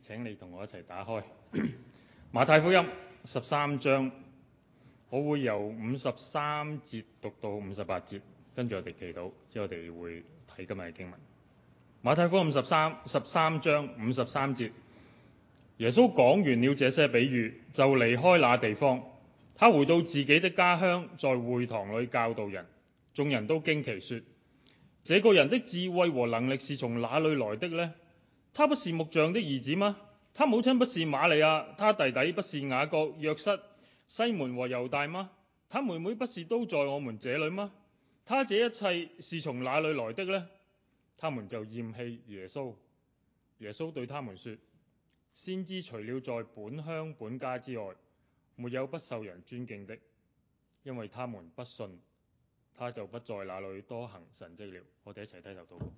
請你同我一齊打開馬太福音13章，我會由53節讀到58節，跟住我哋祈禱，之後我哋會睇今日嘅經文。馬太福音13章53節，耶穌講完了這些比喻，就離開那地方，他回到自己的家鄉，在會堂裏教導人，眾人都驚奇說：這個人的智慧和能力是從哪裏來的呢？他不是木匠的兒子嗎？他母親不是瑪利亞，他弟弟不是雅各、約瑟、西門和猶大嗎？他妹妹不是都在我們這裏嗎？他這一切是從哪裏來的呢？他們就厭棄耶穌。耶穌對他們說：先知除了在本鄉本家之外，沒有不受人尊敬的，因為他們不信，他就不在那裏多行神蹟了。我哋一齊低頭禱告。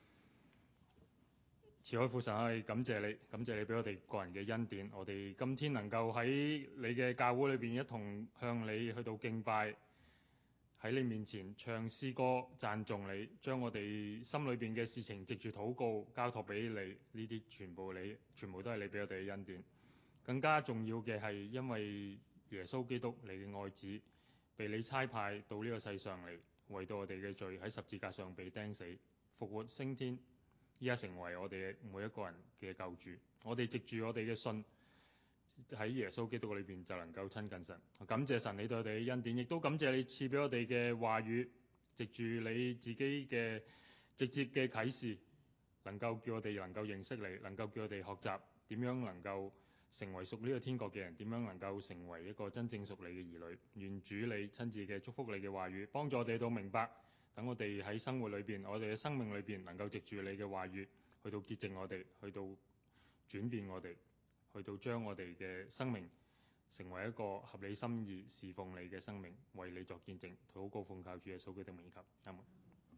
慈愛父神，我哋感謝你，感謝你俾我哋個人嘅恩典。我哋今天能夠喺你嘅教會裏邊一同向你去到敬拜，喺你面前唱詩歌讚頌你，將我哋心裏邊嘅事情藉住禱告交託俾你，呢啲全部都係你俾我哋嘅恩典。更加重要嘅係因為耶穌基督你嘅愛子被你差派到呢個世上嚟，為到我哋嘅罪喺十字架上被釘死、復活升天，依家成為我哋每一個人嘅救主。我哋藉住我哋嘅信喺耶穌基督裏邊就能夠親近神。感謝神你對我哋嘅恩典，亦都感謝你賜俾我哋嘅話語，藉住你自己嘅直接嘅啟示，能夠叫我哋能夠認識你，能夠叫我哋學習點樣能夠成為屬呢個天國嘅人，點樣能夠成為一個真正屬你嘅兒女。願主你親自嘅祝福你嘅話語，幫助我哋到明白，等我哋喺生活裏邊，我哋嘅生命裏邊能夠藉住你嘅話語去到潔淨我哋，去到轉變我哋，去到將我哋嘅生命成為一個合理心意侍奉你嘅生命，為你作見證。禱告奉靠主耶穌基督名求，阿門。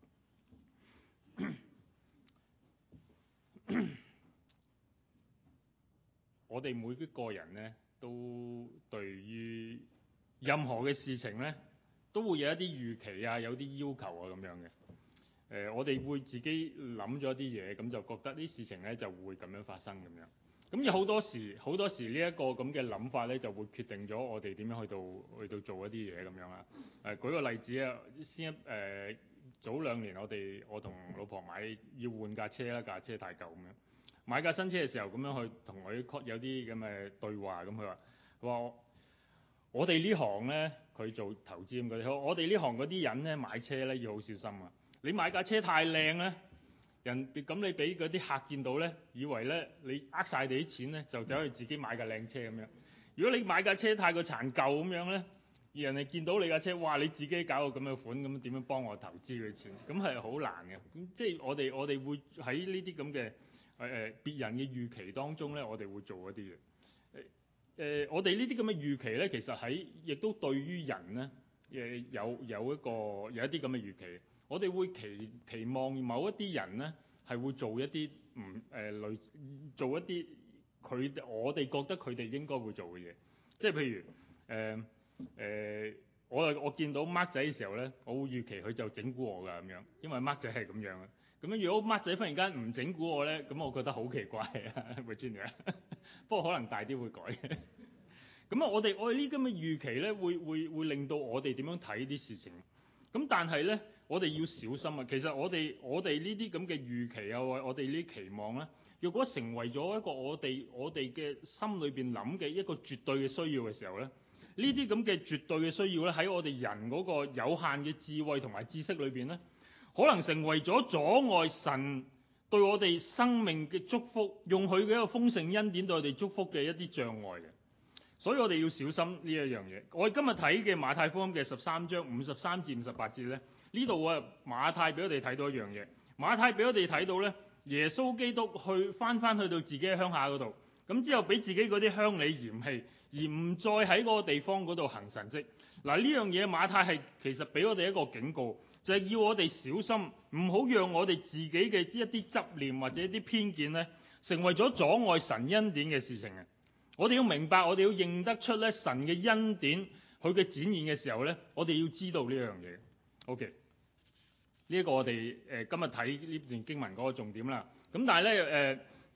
我哋每一個人呢，都對於任何嘅事情呢，都會有一啲預期啊，有啲要求啊咁樣嘅。我哋會自己諗咗啲嘢，咁就覺得啲事情呢就會咁樣發生咁樣。咁有好多時呢一個咁嘅諗法呢，就會決定咗我哋點樣去到做一啲嘢咁樣啦。舉個例子啊，早2年我同老婆要換架車啦，架車太舊咁樣。買架新車嘅時候，咁樣去同佢有啲咁嘅對話，咁佢話我哋呢行呢，佢做投資咁嗰啲，我哋呢行嗰啲人呢，買車呢要好小心啊！你買架車太靚呢，咁你俾嗰啲客見到呢，以為呢你呃晒你啲錢呢，就走去自己買架靚車咁樣。如果你買架車太過殘舊咁樣呢，而人哋見到你架車，哇！你自己搞個咁嘅款，咁點樣幫我投資佢錢？咁係好難嘅。咁即係我哋會喺呢啲咁嘅別人嘅預期當中呢，我哋會做一啲嘢。我哋呢啲咁嘅預期呢，其實亦都對於人呢，有一啲咁嘅預期。我哋會期望某一啲人呢，係會做一啲做一啲我哋覺得佢哋應該會做嘅嘢。即係譬如我見到 Mark 仔嘅時候呢，我會預期佢就整蠱我㗎咁樣，因為 Mark 仔係咁樣嘅。咁樣如果 Mark 仔忽然間唔整蠱我呢，咁我覺得好奇怪啊 Virginia 不過可能大啲會改。咁啊，我哋呢啲咁嘅預期呢，會令到我哋點樣睇啲事情。咁但係呢，我哋要小心啊！其實我哋呢啲咁嘅預期啊，我哋呢啲期望呢，如果成為咗一個我哋嘅心裏邊諗嘅一個絕對嘅需要嘅時候呢，呢啲咁嘅絕對嘅需要呢，喺我哋人嗰個有限嘅智慧同埋知識裏邊呢，可能成為咗阻礙神對我哋生命嘅祝福，用佢嘅一個豐盛恩典對我哋祝福嘅一啲障礙嘅。所以我哋要小心呢一樣嘢。我哋今日睇嘅馬太福音嘅13章53至58節呢，呢度啊馬太俾我哋睇到一樣嘢。馬太俾我哋睇到呢，耶穌基督翻去到自己嘅鄉下嗰度，咁之後俾自己嗰啲鄉里嫌棄，而唔再喺嗰個地方嗰度行神蹟。嗱，呢樣嘢馬太係其實俾我哋一個警告，就係要我哋小心，唔好讓我哋自己嘅一啲執念或者一啲偏見呢，成為咗阻礙神恩典嘅事情啊！我哋要明白，我哋要認得出咧神嘅恩典，佢嘅展現嘅時候咧，我哋要知道呢樣嘢。OK， 呢一個我哋今日睇呢段經文嗰個重點啦。咁但係咧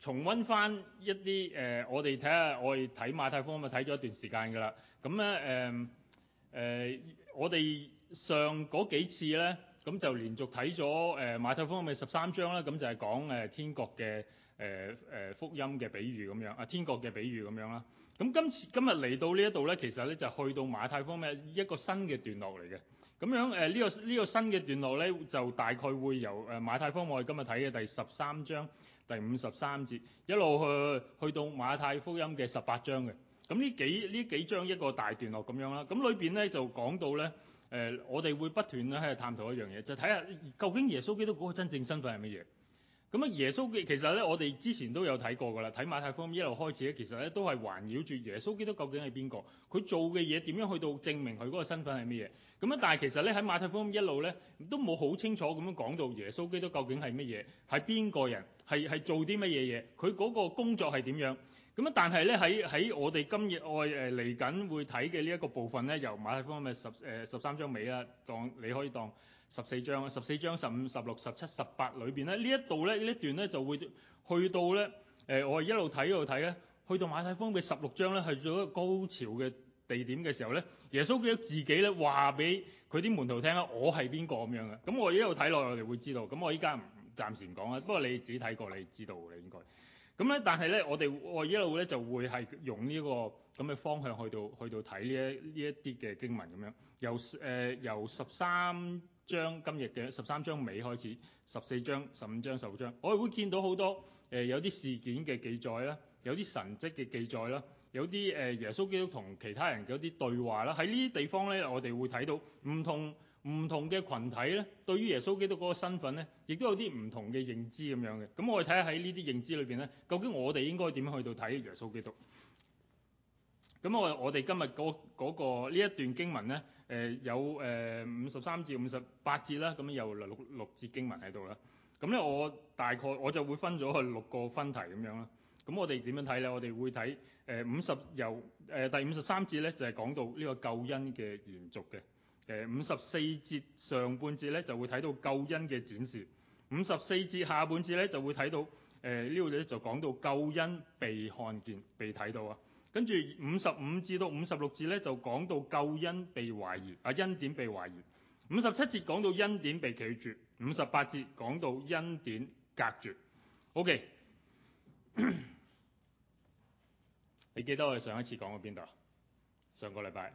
重溫翻一啲我哋睇馬太福音咪睇咗一段時間㗎啦。咁咧我哋上嗰幾次咧，咁就連續睇咗馬太福音嘅13章啦。咁就係講天國嘅福音嘅比喻咁樣，天國嘅比喻咁樣啦。咁今日嚟到呢一度咧，其實咧就去到馬太福音嘅一個新嘅段落嚟嘅。咁樣呢個新嘅段落咧，就大概會由馬太福音我哋今日睇嘅第13章第53節一路去到馬太福音嘅18章嘅。咁呢幾章一個大段落咁樣啦。咁裏邊咧就講到咧我哋會不斷咧喺度探討一樣嘢，就睇下究竟耶穌基督嗰個真正身份係乜嘢。咁耶穌其實咧，我哋之前都有睇過㗎啦。睇馬太福音一路開始咧，其實咧都係環繞住耶穌基督究竟係邊個，佢做嘅嘢點樣去到證明佢嗰個身份係乜嘢。咁但係其實咧喺馬太福音一路咧都冇好清楚咁樣講到耶穌基督究竟係乜嘢，係邊個人，係做啲乜嘢嘢，佢嗰個工作係點樣。咁但係咧喺我哋今日嚟緊會睇嘅呢一個部分咧，由馬太福音嘅13章尾啦，你可以當14章15、16、17、18裏邊咧，呢一度咧呢一段咧就會去到咧我哋一路睇咧，去到馬太福音嘅16章咧，係做一個高潮嘅地點嘅時候咧，耶穌基督自己咧話俾佢啲門徒聽啦，我係邊個咁樣嘅。咁我一路睇落我哋會知道。咁我依家暫時唔講啦，不過你自己睇過你知道嘅應該。咁咧，但係咧我一路咧就會係用呢個咁嘅方向去到睇呢一啲嘅經文咁樣，由13章今日嘅13章尾開始，14章、15章、16章，我哋會見到好多有啲事件嘅記載啦，有啲神蹟嘅記載啦，有啲耶穌基督同其他人嘅一啲對話啦。喺呢啲地方咧，我哋會睇到唔同嘅群體咧，對於耶穌基督嗰個身份咧，亦都有啲唔同嘅認知咁樣嘅。咁我哋睇下喺呢啲認知裏邊咧，究竟我哋應該點樣去到睇耶穌基督？咁我哋今日嗰個呢一段經文咧，有53至58節啦，咁有六節經文喺度啦。咁咧我大概我就會分咗去6個分題咁樣啦。咁我哋點樣睇咧？我哋會睇由第53節咧，就係講到呢個救恩嘅延續嘅。54節上半節咧就會睇到救恩嘅展示，54節下半節咧就會睇到呢度咧就講到救恩被看見、被睇到啊。跟住55至到56節咧就講到救恩被懷疑，恩典被懷疑。57節講到恩典被拒絕，58節講到恩典隔絕。OK， 你記得我哋上一次講過邊度？上個禮拜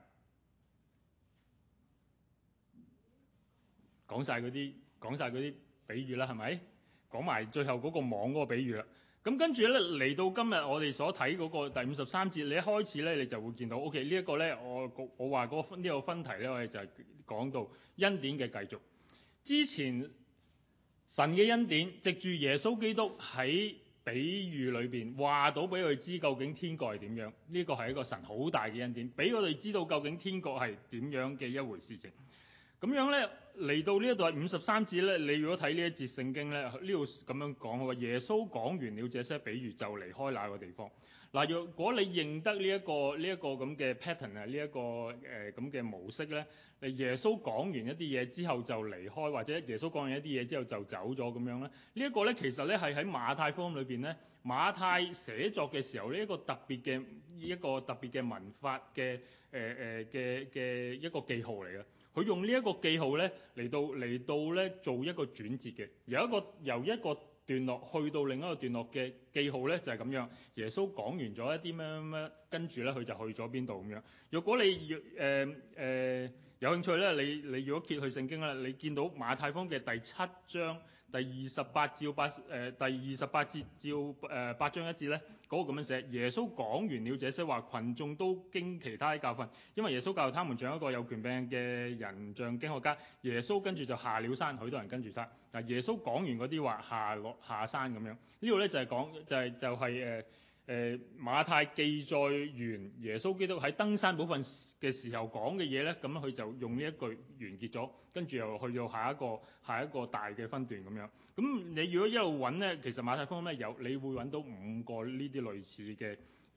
講晒嗰啲比喻啦，係咪？講埋最後嗰個網嗰個比喻啦。咁跟住咧嚟到今日我哋所睇嗰個第53節，你一開始咧你就會見到 OK 呢一個咧，我話呢個分題咧，我哋就係講到恩典嘅繼續。之前神嘅恩典藉住耶穌基督喺比喻裏邊話到俾佢知究竟天國係點樣，呢個係一個神好大嘅恩典，俾我哋知道究竟天國係點樣嘅一回事情。咁樣咧嚟到呢一度係53節咧，你如果睇呢一節聖經咧，呢度咁樣講，話耶穌講完了這些比喻就離開那個地方。嗱，若果你認得呢一個咁嘅 pattern 啊，呢一個咁嘅模式咧，耶穌講完一啲嘢之後就離開，或者耶穌講完一啲嘢之後就走咗咁樣咧，呢一個咧其實咧係喺馬太福音裏邊咧，馬太寫作嘅時候呢一個特別嘅文法嘅一個記號嚟嘅。佢用呢一個記號咧嚟到咧做一個轉折嘅，由一個段落去到另一個段落嘅記號咧就係咁樣。耶穌講完咗一啲咩，跟住咧佢就去咗邊度咁樣。如果你有興趣咧，你如果揭去聖經咧，你見到馬太福音嘅第7章第28節至8章1節咧，嗰個咁樣寫：耶穌講完了這些話，群眾都經其他的教訓，因為耶穌教他們像一個有權柄嘅人，像經學家。耶穌跟住就下了山，許多人跟住他。嗱，耶穌講完嗰啲話下山咁樣，呢度咧就係講馬太記載完耶穌基督喺登山寶訓嘅時候講嘅嘢咧，咁佢就用呢一句完結咗，跟住又去到下一個大嘅分段咁樣。咁你如果一路揾咧，其實馬太福音咧你會揾到5個呢啲類似嘅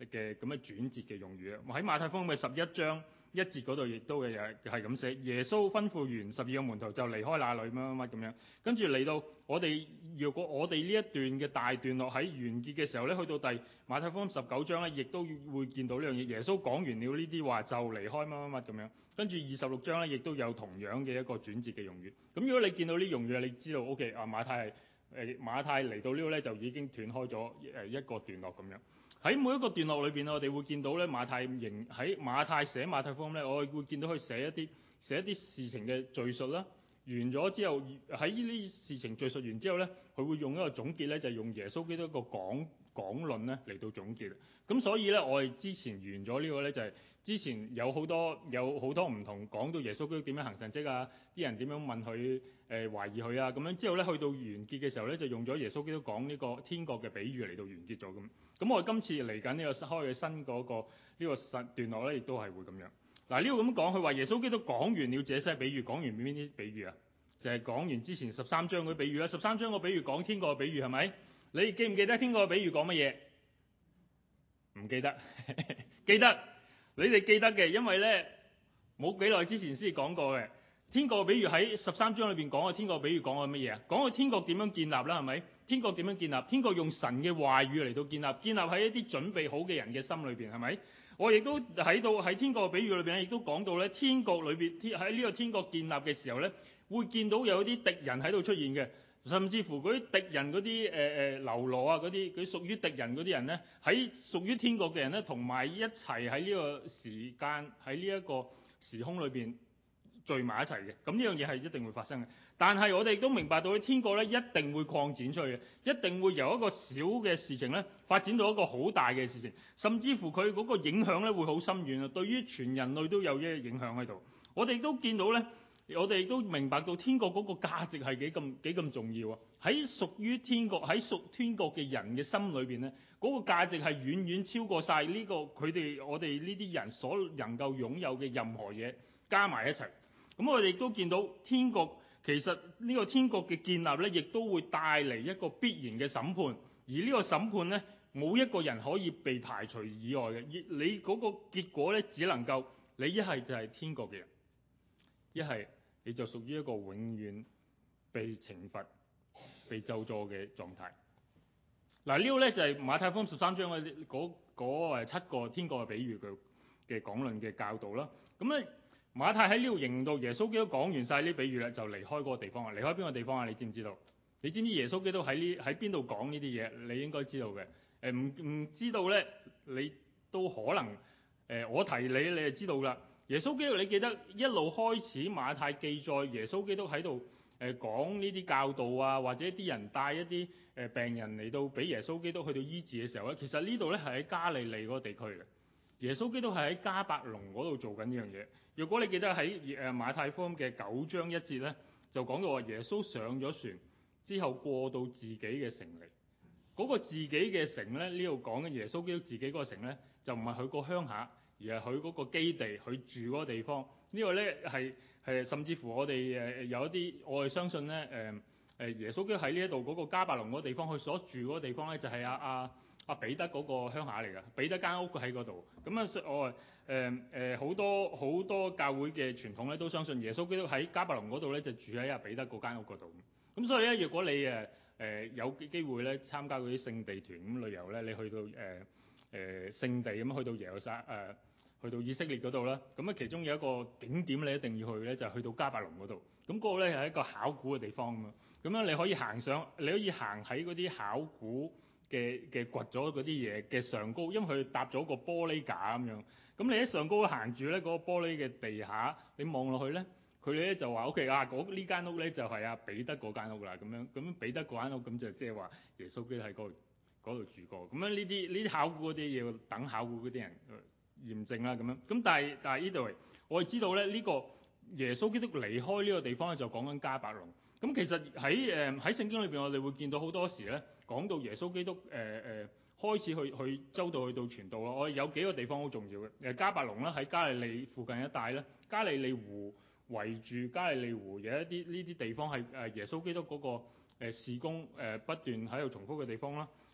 嘅咁嘅轉折嘅用語啊。喺馬太福音嘅11章1節嗰度亦都係咁寫，耶穌吩咐完12個門徒就離開那裏乜乜乜咁樣，跟住嚟到若果我哋呢一段嘅大段落喺完結嘅時候咧，去到馬太福音19章咧，亦都會見到呢樣嘢。耶穌講完了呢啲話就離開乜乜乜咁樣，跟住26章咧亦都有同樣嘅一個轉折嘅用語。咁如果你見到呢用語，你知道 OK 啊，馬太嚟到呢度咧就已經斷開咗一個段落咁樣。喺每一個段落裏邊，我哋會見到咧馬太寫馬太福音咧，我會見到佢寫一啲事情嘅敘述啦。完咗之後，喺呢啲事情敘述完之後咧，佢會用一個總結咧，就係用耶穌基督一個講論咧嚟到總結。咁所以咧，我哋之前完咗呢個咧，就係之前有好多唔同講到耶穌基督點樣行神蹟啊，啲人點樣問佢懷疑佢啊，咁樣之後咧，去到完結嘅時候咧，就用咗耶穌基督講呢個天國嘅比喻嚟到完結咗咁。咁我哋今次嚟緊呢個開嘅新嗰個呢個段落咧，亦都係會咁樣。嗱，呢度咁講，佢話耶穌基督講完了這些比喻，講完邊啲比喻啊？就係講完之前13章嗰啲比喻啦。13章個比喻講天國嘅比喻係咪？你記唔記得天國嘅比喻講乜嘢？唔記得，記得，你哋記得嘅，因為咧冇幾耐之前先講過嘅。天國嘅比喻喺13章裏邊講嘅天國嘅比喻講嘅乜嘢啊？講嘅天國點樣建立啦，係咪？天國點樣建立？天國用神嘅話語嚟到建立喺一啲準備好嘅人嘅心裏邊，係咪？我亦都喺天國嘅比喻裏邊咧，亦都講到咧，天國裏邊喺呢個天國建立嘅時候咧，會見到有啲敵人喺度出現嘅，甚至乎嗰啲敵人嗰啲流羅啊，嗰啲佢屬於敵人嗰啲人咧，喺屬於天國嘅人咧，同埋一齊喺呢個時間喺呢一個時空裏邊聚埋一齊嘅。咁呢樣嘢係一定會發生嘅。但係我哋都明白到，天國咧一定會擴展出去嘅，一定會由一個小嘅事情咧發展到一個好大嘅事情，甚至乎佢嗰個影響咧會好深遠啊！對於全人類都有一個影響喺度。我哋都見到咧，我哋都明白到天國嗰個價值係幾咁重要啊！喺屬於天國喺屬天國嘅人嘅心裏邊咧，嗰個價值係遠遠超過晒呢個我哋呢啲人所能夠擁有嘅任何嘢加埋一齊。咁我哋都見到天國。其實呢個天國嘅建立咧，亦都會帶嚟一個必然嘅審判，而呢個審判咧，冇一個人可以被排除以外嘅。你嗰個結果咧，只能夠你一係就係天國嘅人，一係你就屬於一個永遠被懲罰、被咒詛嘅狀態。嗱，呢個咧就係馬太福音13章嘅嗰7個天國嘅比喻嘅講論嘅教導啦。咁咧。馬太喺呢度形容到耶穌基督講完晒呢啲比喻咧，就離開嗰個地方啊！離開邊個地方啊？你知唔知道？你知唔知耶穌基督喺邊度講呢啲嘢？你應該知道嘅。唔知道咧，你都可能我提你，你就知道啦。耶穌基督，你記得一路開始馬太記載耶穌基督喺度講呢啲教導啊，或者啲人帶一啲病人嚟到俾耶穌基督去到醫治嘅時候咧，其實呢度咧係喺加利利嗰個地區嘅。耶穌基督係喺迦百農嗰度做緊呢樣嘢。如果你記得喺馬太福音嘅9章1節咧，就講到話耶穌上咗船之後過到自己嘅城嚟。嗰個自己嘅城咧，呢度講緊耶穌基督自己嗰個城咧，就唔係佢個鄉下，而係佢嗰個基地，佢住嗰個地方。呢個咧係甚至乎我哋有一啲我哋相信咧耶穌基督喺呢一度嗰個迦百農嗰個地方，佢所住嗰個地方咧就係阿彼得嗰個鄉下嚟㗎。彼得間屋喺嗰度。咁啊我好多教會嘅傳統咧都相信耶穌基督喺迦百農嗰度咧就住喺阿彼得嗰間屋嗰度。咁所以咧，如果你有機會咧參加嗰啲聖地團咁旅遊咧，你去到聖地咁去到耶路撒去到以色列嗰度啦，咁啊其中有一個景點你一定要去咧，就係去到迦百農嗰度。咁嗰個咧係一個考古嘅地方咁啊。咁樣你可以行喺嗰啲考古嘅掘咗嗰啲嘢嘅上高，因為佢搭咗個玻璃架咁樣。咁你喺上高行住咧，嗰個玻璃嘅地下，你望落去咧，佢哋咧就話 OK 啊，呢間屋咧就係阿彼得嗰間屋啦。咁彼得嗰間屋咁就即係話耶穌基督喺嗰度住過。咁樣呢啲考古嗰啲要等考古嗰啲人驗證啦。咁樣咁但係呢度我哋知道咧，呢個耶穌基督離開呢個地方咧，就講緊迦百農。咁其實喺聖經裏邊，我哋會見到好多時咧講到耶穌基督開始去周到去到傳道咯。我哋有幾個地方好重要嘅。迦百農啦，喺加利利附近一帶咧，加利利湖圍住加利利湖有一啲呢啲地方係耶穌基督嗰個事工不斷喺度重複嘅地方啦。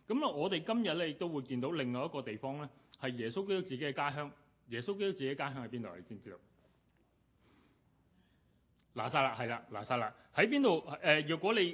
咁啊，我哋今日咧亦都會見到另外一個地方咧，係耶穌基督自己嘅家鄉。耶穌基督自己嘅家鄉喺邊度？你知唔知道？拿撒勒，係啦，拿撒勒喺邊度？若果你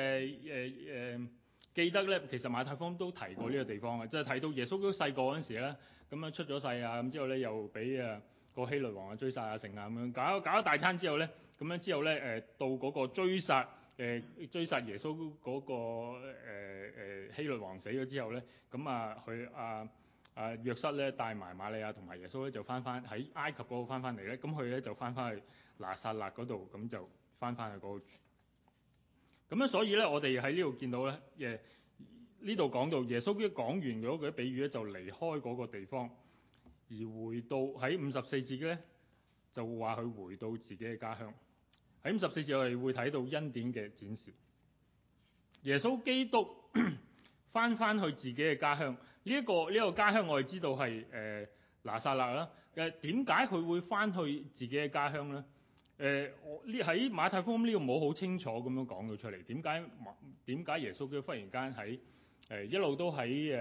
記得咧，其實馬太福音都提過呢個地方嘅，即係提到耶穌基督細個嗰陣時咧，咁樣出咗世啊，咁之後咧又俾個希律王追殺啊成啊咁樣，搞一大餐之後咧，咁樣之後咧到嗰個追殺耶穌嗰個希律王死咗之後咧，咁佢約瑟咧帶埋瑪利亞同埋耶穌咧就翻喺埃及嗰度翻嚟咧，咁佢咧就翻去拿撒勒嗰度，咁就翻去嗰度。咁樣所以咧，我哋喺呢度見到咧，呢度講到耶穌基督講完嗰個比喻咧，就離開嗰個地方，而回到喺54節嘅咧，就話佢回到自己嘅家鄉。喺54節我哋會睇到恩典嘅展示。耶穌基督翻去自己嘅家鄉，呢一個家鄉我哋知道係拿撒勒啦。點解佢會翻去自己嘅家鄉咧？喺馬太福音呢度冇好清楚咁樣講到出嚟。點解耶穌基督忽然間喺一路都喺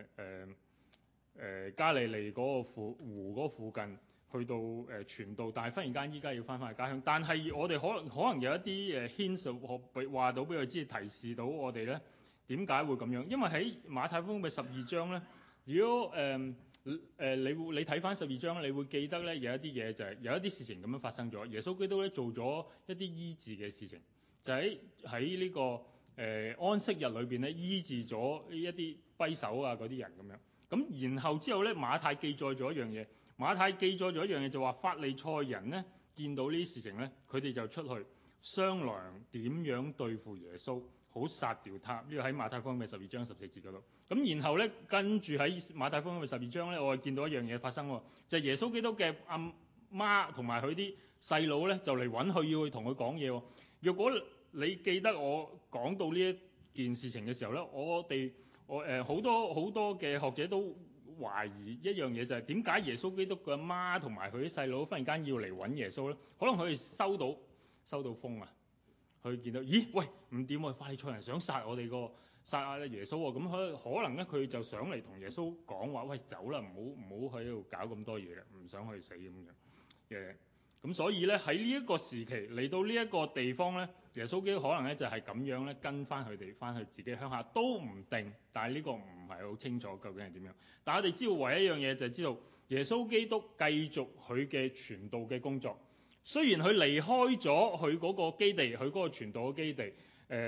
加利利嗰個湖嗰附近去到傳道，但係忽然間依家要翻去家鄉。但係我哋可能有一啲hints 話到俾佢知，提示到我哋咧點解會咁樣。因為喺馬太福音嘅12章咧，如果你睇翻12章，你會記得咧有一啲嘢就係有一啲事情咁樣發生咗。耶穌基督咧做咗一啲醫治嘅事情，就喺呢個安息日裏邊咧醫治咗一啲跛手啊嗰啲人咁樣。咁然後之後咧馬太記載咗一樣嘢，馬太記載咗一樣嘢就話法利賽人咧見到呢啲事情咧，佢哋就出去商量點樣對付耶穌，好殺掉他。呢個喺馬太福音嘅12章14節嗰度。咁然後咧，跟住喺馬太福音嘅12章咧，我哋見到一樣嘢發生喎，就係耶穌基督嘅阿媽同埋佢啲細佬咧，就嚟揾佢要去同佢講嘢喎。若果你記得我講到呢一件事情嘅時候咧，我好多嘅學者都懷疑一樣嘢，就係點解耶穌基督嘅阿媽同埋佢啲細佬忽然間要嚟揾耶穌咧？可能佢哋收到風啊，佢見到咦喂唔掂喎，法利賽人想殺耶穌喎，咁可能咧佢就想嚟同耶穌講話，喂走啦，唔好喺度搞咁多嘢啦，唔想去死咁樣。咁所以咧喺呢一個時期嚟到呢一個地方咧，耶穌基督可能咧就係咁樣咧跟翻佢哋翻去自己鄉下都唔定，但係呢個唔係好清楚究竟係點樣。但係我哋知道唯一一樣嘢就係知道耶穌基督繼續佢嘅傳道嘅工作，雖然佢離開咗佢嗰個基地，佢嗰個傳道嘅基地，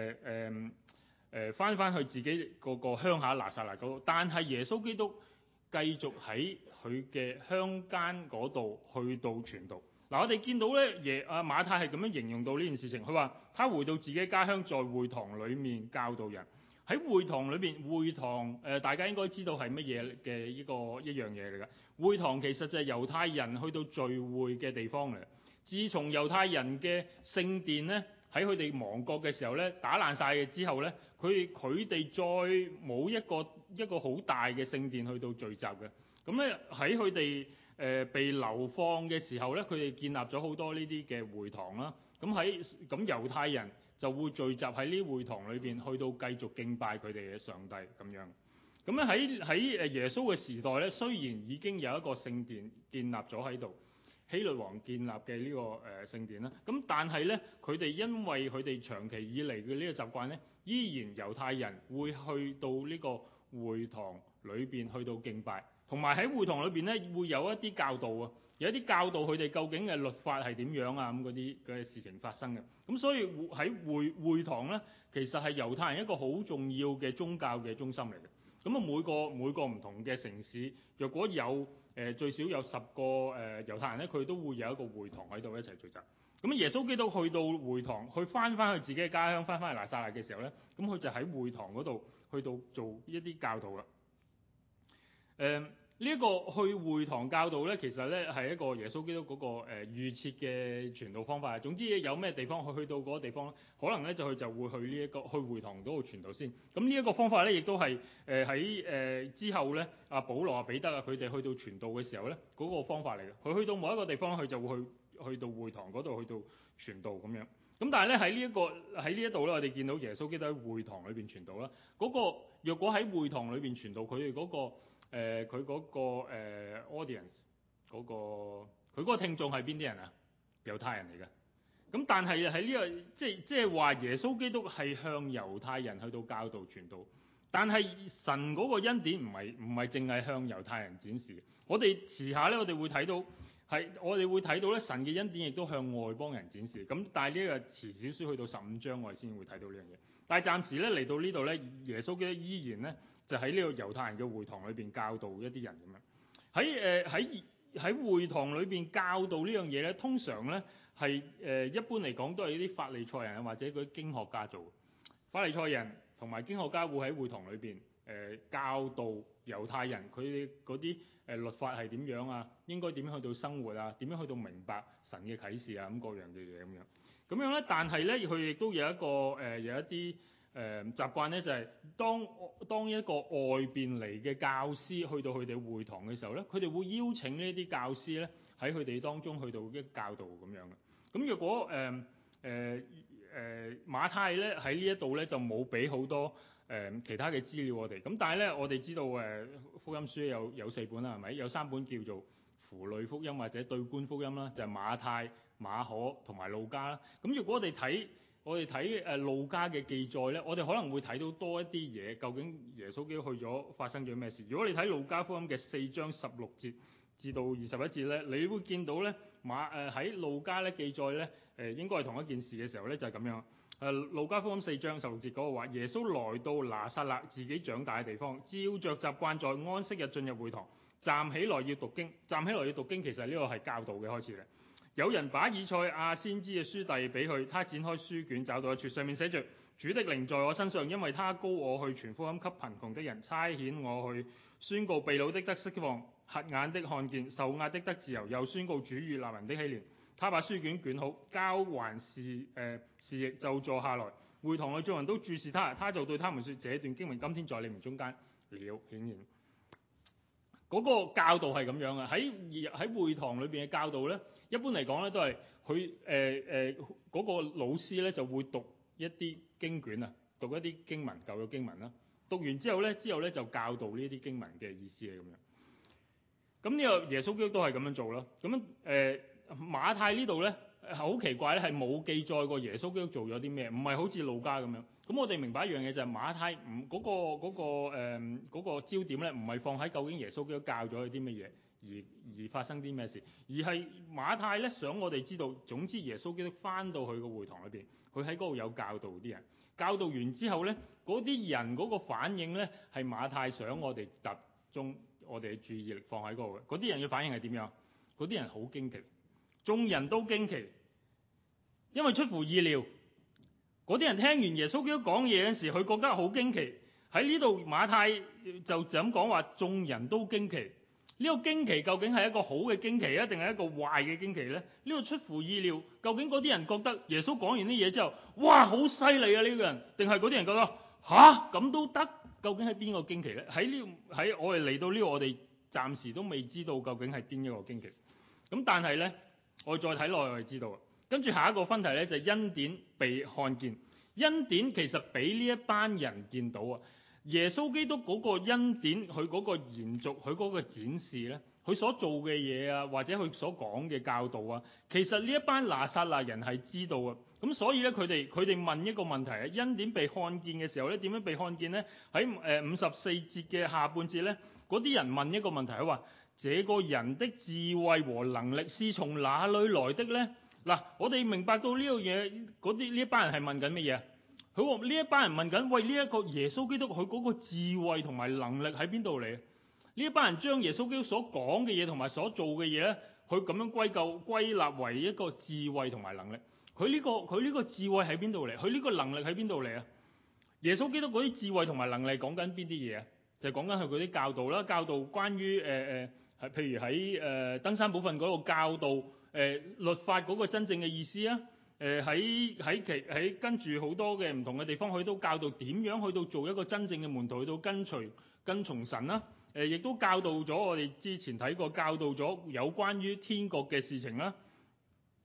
翻去自己個鄉下拿撒勒嗰度，但係耶穌基督繼續喺佢嘅鄉間嗰度去到傳道。嗱，我哋見到咧，馬太係咁樣形容到呢件事情，佢話他回到自己家鄉，在會堂裏面教導人。喺會堂裏邊，會堂大家應該知道係乜嘢嘅一樣嘢嚟㗎。會堂其實就係猶太人去到聚會嘅地方嚟。自從猶太人嘅聖殿咧喺佢哋亡國嘅時候咧打爛晒嘅之後咧，佢哋再冇一個好大嘅聖殿去到聚集嘅。咁咧喺佢哋被流放嘅時候咧，佢哋建立咗好多呢啲嘅會堂啦。咁猶太人就會聚集喺呢啲會堂裏邊，去到繼續敬拜佢哋嘅上帝咁樣。咁咧喺耶穌嘅時代咧，雖然已經有一個聖殿建立咗喺度，希律王建立嘅呢個聖殿啦。咁但係咧，佢哋因為佢哋長期以嚟嘅呢個習慣咧，依然猶太人會去到呢個會堂裏邊去到敬拜。同埋喺會堂裏邊咧，會有一啲教導啊，有一啲教導佢哋究竟嘅律法係點樣啊，咁嗰啲嘅事情發生嘅。咁所以喺會堂咧，其實係猶太人一個好重要嘅宗教嘅中心嚟嘅。咁啊每個唔同嘅城市，若果有最少有10個猶太人咧，佢都會有一個會堂喺度一齊聚集。咁耶穌基督去到會堂，去翻去自己嘅家鄉，翻去拿撒勒嘅時候咧，咁佢就喺會堂嗰度去到做一啲教導啦。呢一個去會堂教導咧，其實咧係一個耶穌基督嗰個預設嘅傳道方法。總之有咩地方去到嗰個地方咧，可能咧就會去呢一個去會堂嗰度傳道先。咁呢一個方法咧，亦都係喺之後咧，阿保羅啊、彼得啊佢哋去到傳道嘅時候咧，嗰個方法嚟嘅。佢去到某一個地方，佢就會去到會堂嗰度去到傳道咁樣。 咁但係咧喺呢一度咧，我哋見到耶穌基督喺會堂裏邊傳道啦。嗰個若果喺會堂裏邊傳道，佢哋嗰個佢嗰個audience 嗰個佢嗰個聽眾係邊啲人啊？猶太人嚟嘅。咁但係喺呢個即係話耶穌基督係向猶太人去到教導傳道，但係神嗰個恩典唔係淨係向猶太人展示。我哋遲下咧，我哋會睇到咧，神嘅恩典亦都向外邦人展示。咁但係呢個遲少少去到15章，我哋先會睇到呢樣嘢。但係暫時咧嚟到呢度咧，耶穌基督依然咧就喺呢個猶太人嘅會堂裏邊教導一啲人咁樣。喺會堂裏邊教導呢樣嘢咧，通常咧係一般嚟講都係啲法利賽人啊，或者嗰啲經學家做。法利賽人同埋經學家會喺會堂裏邊教導猶太人佢哋嗰啲律法係點樣啊，應該點樣去到生活啊，點樣去到明白神嘅啟示啊，咁各樣嘅嘢咁樣咧。但係咧佢亦都有一個有一啲習慣咧，就係當一個外邊嚟嘅教師去到佢哋會堂嘅時候咧，佢哋會邀請呢啲教師咧喺佢哋當中去到一教導咁樣嘅。咁若果馬太咧喺呢一度咧就冇俾好多其他嘅資料我哋。咁但係咧我哋知道福音書有4本啦，係咪？有3本叫做符類福音或者對觀福音啦，就係馬太、馬可同埋路加啦。咁如果我哋睇路加嘅記載咧，我哋可能會睇到多一啲嘢，究竟耶穌基督去咗發生咗咩事？如果你睇路加福音嘅4章16節至到21節咧，你會見到咧喺路加咧記載咧應該係同一件事嘅時候咧，就係咁樣。路加福音4章16節嗰個話，耶穌來到拿撒勒自己長大嘅地方，照着習慣在安息日進入會堂，站起來要讀經。站起來要讀經，其實呢個係教導嘅開始嘅。有人把以賽亞先知嘅書遞俾佢，他展開書卷找到一處，上面寫着：主的靈在我身上，因為他膏我去傳福音給貧窮的人，差遣我去宣告被擄的得釋放，瞎眼的看見，受壓的得自由，又宣告主悅納人的喜年。他把書卷捲好，交還侍役，就坐下來。會堂裏眾人都注視他，他就對他們說：這段經文今天在你們中間了顯現。嗰個教導係咁樣嘅。喺會堂裏邊嘅教導咧，一般嚟講咧都係佢嗰個老師咧就會讀一啲經卷啊，讀一啲經文，舊嘅經文啦。讀完之後咧就教導呢啲經文嘅意思係咁樣。咁呢個耶穌基督都係咁樣做啦。咁馬太呢度咧好奇怪咧，係冇記載過耶穌基督做咗啲咩，唔係好似路加咁樣。咁我哋明白一樣嘢就係馬太嗰個焦點咧，唔係放喺究竟耶穌基督教咗佢啲乜嘢，而發生啲咩事，而係馬太咧想我哋知道，總之耶穌基督翻到去個會堂裏邊，佢喺嗰度有教導啲人，教導完之後咧，嗰啲人嗰個反應咧係馬太想我哋集中我哋嘅注意力放喺嗰度嘅。嗰啲人嘅反應係點樣？嗰啲人好驚奇，眾人都驚奇，因為出乎意料。嗰啲人聽完耶穌基督講嘢嗰時，佢覺得好驚奇。喺呢度馬太就咁講話，眾人都驚奇。呢個驚奇究竟係一個好嘅驚奇啊，定係一個壞嘅驚奇呢？呢個出乎意料，究竟嗰啲人覺得耶穌講完啲嘢之後，哇，好犀利啊呢個人，定係嗰啲人覺得吓咁都得？究竟係邊個驚奇呢？喺我哋嚟到呢度，我哋暫時都未知道究竟係邊一個驚奇。咁但係呢，我哋再睇落去，我哋知道。跟住下一個分題呢，就係恩典被看見。恩典其實俾呢一班人見到啊！耶穌基督嗰個恩典，佢嗰個延續，佢嗰個展示呢，佢所做嘅嘢啊，或者佢所講嘅教導啊，其實呢一班拿撒勒人係知道啊。咁所以呢，佢哋問一個問題啊：恩典被看見嘅時候呢，點樣被看見呢？喺54節嘅下半節呢，嗰啲人問一個問題，佢話：這個人的智慧和能力是從哪裏來的呢？嗱，我哋明白到呢樣嘢，呢一班人係問緊乜嘢？佢話呢一班人問緊：喂，呢一個耶穌基督佢嗰個智慧同埋能力喺邊度嚟？呢一班人將耶穌基督所講嘅嘢同埋所做嘅嘢咧，佢咁樣歸納為一個智慧同埋能力。佢呢個智慧喺邊度嚟？佢呢個能力喺邊度嚟啊？耶穌基督嗰啲智慧同埋能力講緊邊啲嘢啊？就講緊佢嗰啲教導啦，教導關於譬如喺登山寶訓嗰個教導。律法嗰個真正嘅意思啊，喺跟住好多嘅唔同嘅地方，佢都教導點樣去到做一個真正嘅門徒，去到跟從神啦。亦都教導咗我哋之前睇過，教導咗有關於天國嘅事情啦。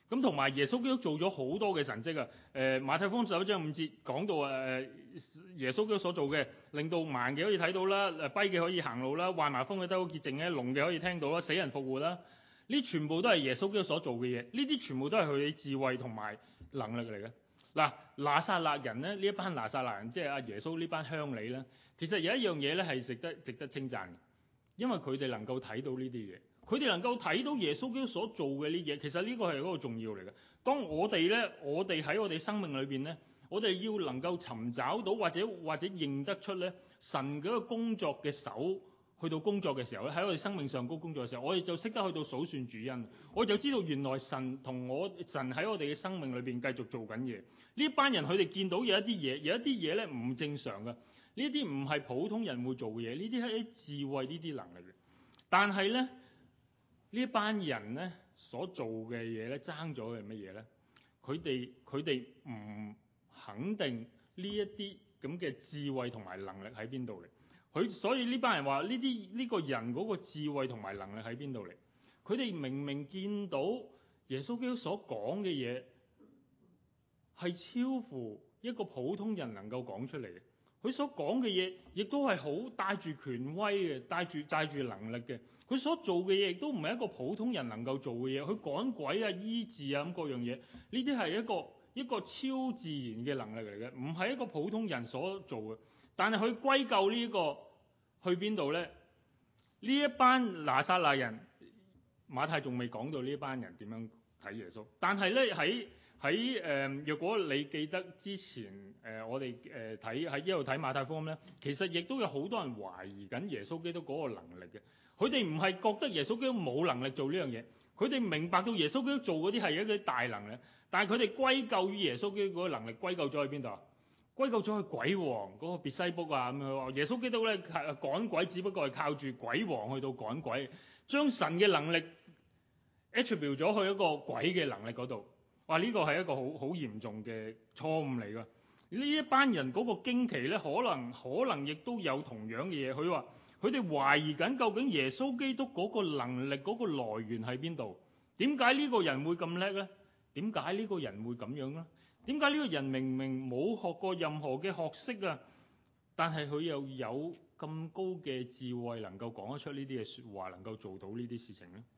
咁同埋耶穌基督做咗好多嘅神蹟啊！馬太福音11章5節講到耶穌基督所做嘅，令到盲嘅可以睇到啦，跛嘅可以行路啦，患麻風嘅得到潔淨咧，聾嘅可以聽到啦，死人復活啦。呢全部都係耶穌基督所做嘅嘢，呢啲全部都係佢嘅智慧同埋能力嚟嘅。嗱，拿撒勒人咧，呢一班拿撒勒人，即係阿耶穌呢班鄉里咧，其實有一樣嘢咧係值得稱讚嘅，因為佢哋能夠睇到呢啲嘢。佢哋能夠睇到耶穌基督所做嘅呢嘢，其實呢個係嗰個重要嚟嘅。當我哋喺我哋生命裏邊咧，我哋要能夠尋找到或者認得出咧神嗰個工作嘅手去到工作嘅時候咧，喺我哋生命上高工作嘅時候，我哋就識得去到數算主恩，我就知道原來神喺我哋嘅生命裏邊繼續做緊嘢。呢班人佢哋見到有一啲嘢咧唔正常嘅，呢啲唔係普通人會做嘅嘢，呢啲係啲智慧呢啲能力嘅，但係咧。呢班人咧所做嘅嘢咧，爭咗係乜嘢咧？佢哋唔肯定呢一啲咁嘅智慧同埋能力喺邊度嚟？所以呢班人話呢個人嗰個智慧同埋能力喺邊度嚟？佢哋明明見到耶穌基督所講嘅嘢係超乎一個普通人能夠講出嚟嘅，佢所講嘅嘢亦都係好帶住權威嘅，帶住能力嘅。佢所做嘅嘢亦都唔係一個普通人能夠做嘅嘢，佢趕鬼啊、醫治啊咁各樣嘢，呢啲係一個超自然嘅能力嚟嘅，唔係一個普通人所做嘅。但係佢歸咎呢個去邊度呢？呢一班拿撒勒人，馬太仲未講到呢一班人點樣睇耶穌。但係呢，若果你記得之前我哋喺呢度睇馬太福音呢，其實亦都有好多人懷疑緊耶穌基督嗰個能力嘅。佢哋唔係覺得耶穌基督冇能力做呢樣嘢，佢哋明白到耶穌基督做嗰啲係一啲大能力，但係佢哋歸咎於耶穌基督嗰個能力，歸咎咗去邊度啊？歸咎咗去鬼王嗰個別西卜啊，咁樣話耶穌基督咧趕鬼只不過係靠住鬼王去到趕鬼，將神嘅能力 attribute 咗去一個鬼嘅能力嗰度。哇！呢個係一個好嚴重嘅錯誤嚟㗎。呢一班人嗰個驚奇咧，可能亦都有同樣嘅嘢。佢話佢哋懷疑緊究竟耶穌基督嗰個能力嗰個來源喺邊度？點解呢個人會咁叻呢？點解呢個人會咁樣呢？點解呢個人明明冇學過任何嘅學識啊，但係佢又有咁高嘅智慧，能夠講得出呢啲嘅説話，能夠做到呢啲事情呢？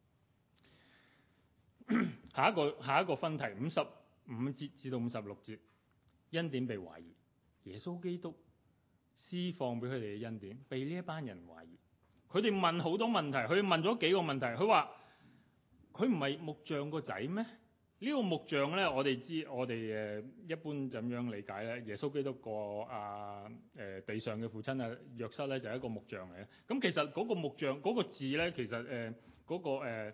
下一個分題55節至到56節，恩典被懷疑，耶穌基督施放俾佢哋嘅恩典被呢一班人懷疑。佢哋問好多問題，佢問咗幾個問題。佢話佢唔係木匠個仔咩？呢個木匠咧，我哋一般怎樣理解咧？耶穌基督個地上嘅父親約瑟咧就係一個木匠嚟嘅。咁其實嗰個木匠嗰個字咧，其實嗰個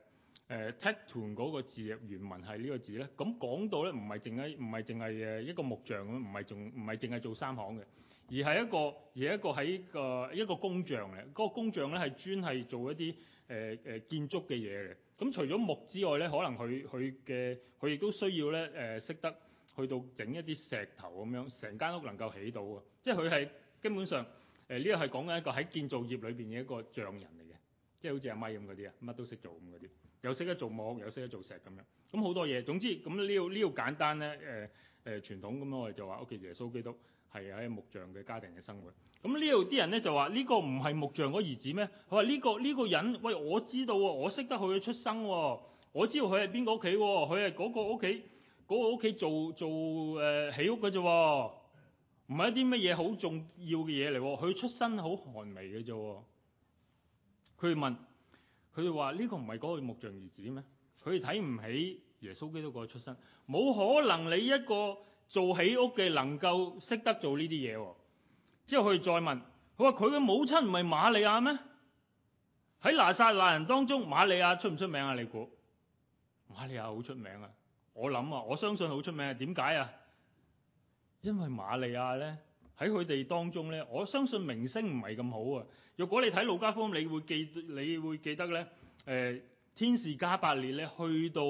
tekton 嗰個字原文係呢個字咧。咁講到咧，唔係淨係一個木匠咁，唔係淨係做三行嘅，而係一個工匠嚟。嗰個工匠咧係專係做一啲建築嘅嘢嚟。咁除咗木之外咧，可能佢亦都需要咧識得去到整一啲石頭咁樣，成間屋能夠起到啊！即係佢係根本上呢個係講緊一個喺建造業裏邊嘅一個匠人嚟嘅，即係好似阿咪咁嗰啲啊，乜都識做咁嗰啲，又識得做木，又識得做石咁樣，咁好多嘢。總之咁呢個簡單咧傳統咁我哋就話屋企耶穌基督係喺木匠嘅家庭嘅生活。咁呢度啲人咧就話呢個唔係木匠嗰兒子咩？佢話呢個人，喂，我知道喎，我識得佢嘅出生喎，我知道佢係邊個屋企喎，佢係嗰個屋企做起屋嘅啫喎，唔係一啲乜嘢好重要嘅嘢嚟喎，佢出身好寒微嘅啫喎。佢哋話呢個唔係嗰個木匠兒子咩？佢哋睇唔起耶穌基督個出身，冇可能你一個做起屋嘅能夠識得做呢啲嘢喎。之後佢哋再問，佢話佢嘅母親唔係瑪利亞咩？喺拿撒勒人當中，瑪利亞出唔出名啊？你估？瑪利亞好出名啊！我相信好出名。點解啊？因為瑪利亞咧喺佢哋當中咧，我相信名聲唔係咁好啊。如果你睇路加福音，你會記得咧，天使加百列咧去到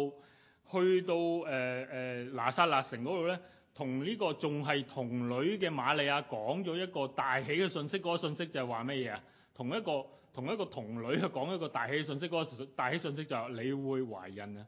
拿撒勒城嗰度咧，同呢個仲係童女嘅瑪利亞講咗一個大喜嘅信息。嗰個信息就係話乜嘢啊？同一個童女去講一個大喜嘅信息。嗰個大喜信息就係你會懷孕啊，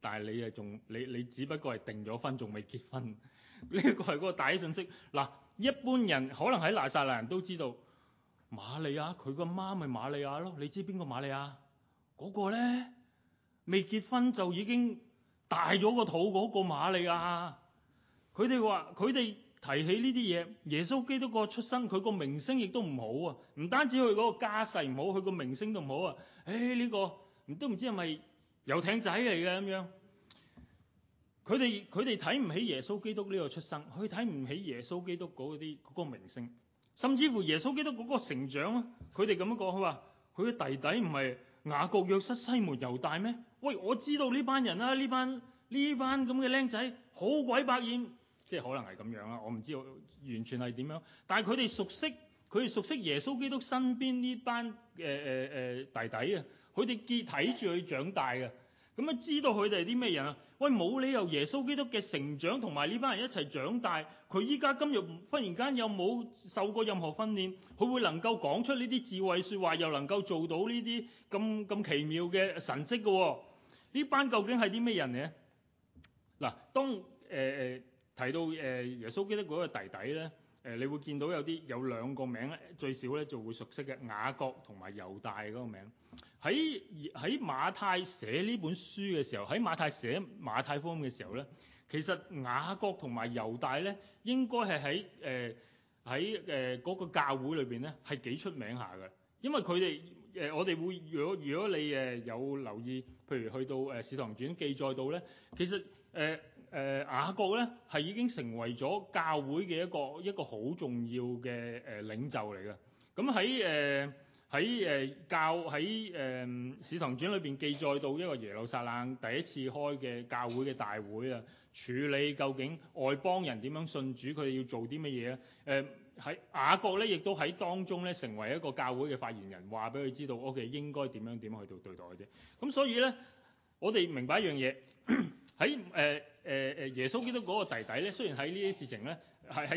但係你只不過係訂咗婚，仲未結婚。呢個係嗰個大信息。嗱，一般人可能喺拿撒勒人都知道瑪利亞，佢個媽咪瑪利亞咯。你知邊個瑪利亞？嗰個咧未結婚就已經大咗個肚嗰個瑪利亞。佢哋話佢哋提起呢啲嘢，耶穌基督個出生，佢個名聲亦都唔好啊！唔單止佢嗰個家世唔好，佢個名聲都唔好啊！呢個都唔知係咪遊艇仔嚟嘅咁樣。佢哋睇唔起耶穌基督呢個出生，佢睇唔起耶穌基督嗰個名聲，甚至乎耶穌基督嗰個成長啊！佢哋咁樣講，佢話佢嘅弟弟唔係雅各、約瑟、西門、猶大咩？喂，我知道呢班人啊，呢班咁嘅僆仔好鬼百厭。即係可能係咁樣啦，我唔知道完全係點樣。但係佢哋熟悉耶穌基督身邊呢班弟弟啊，佢哋睇住佢長大嘅，咁啊知道佢哋係啲咩人啊？喂，冇理由耶穌基督嘅成長同埋呢班人一齊長大，佢依家今日忽然間又冇受過任何訓練，佢會能夠講出呢啲智慧説話，又能夠做到呢啲咁奇妙嘅神蹟嘅喎？呢班究竟係啲咩人呢？嗱，當提到耶穌基督嗰個弟弟咧，你會見到有兩個名咧，最少咧就會熟悉嘅，雅各同埋猶大嗰個名。喺馬太寫呢本書嘅時候，喺馬太寫馬太福音嘅時候咧，其實雅各同埋猶大咧，應該係喺嗰個教會裏邊咧係幾出名下嘅，因為佢哋我哋會如果你有留意，譬如去到使徒行傳記載到咧，其實雅各咧係已經成為咗教會嘅一個好重要嘅領袖嚟嘅。咁喺使徒行傳裏邊記載到一個耶路撒冷第一次開嘅教會嘅大會啊，處理究竟外邦人點樣信主，佢哋要做啲乜嘢啊？喺雅各咧亦都喺當中咧成為一個教會嘅發言人，話俾佢知道 OK 應該點樣去到對待佢哋。咁所以咧，我哋明白一樣嘢喺耶穌基督嗰個弟弟咧，雖然喺呢啲事情咧，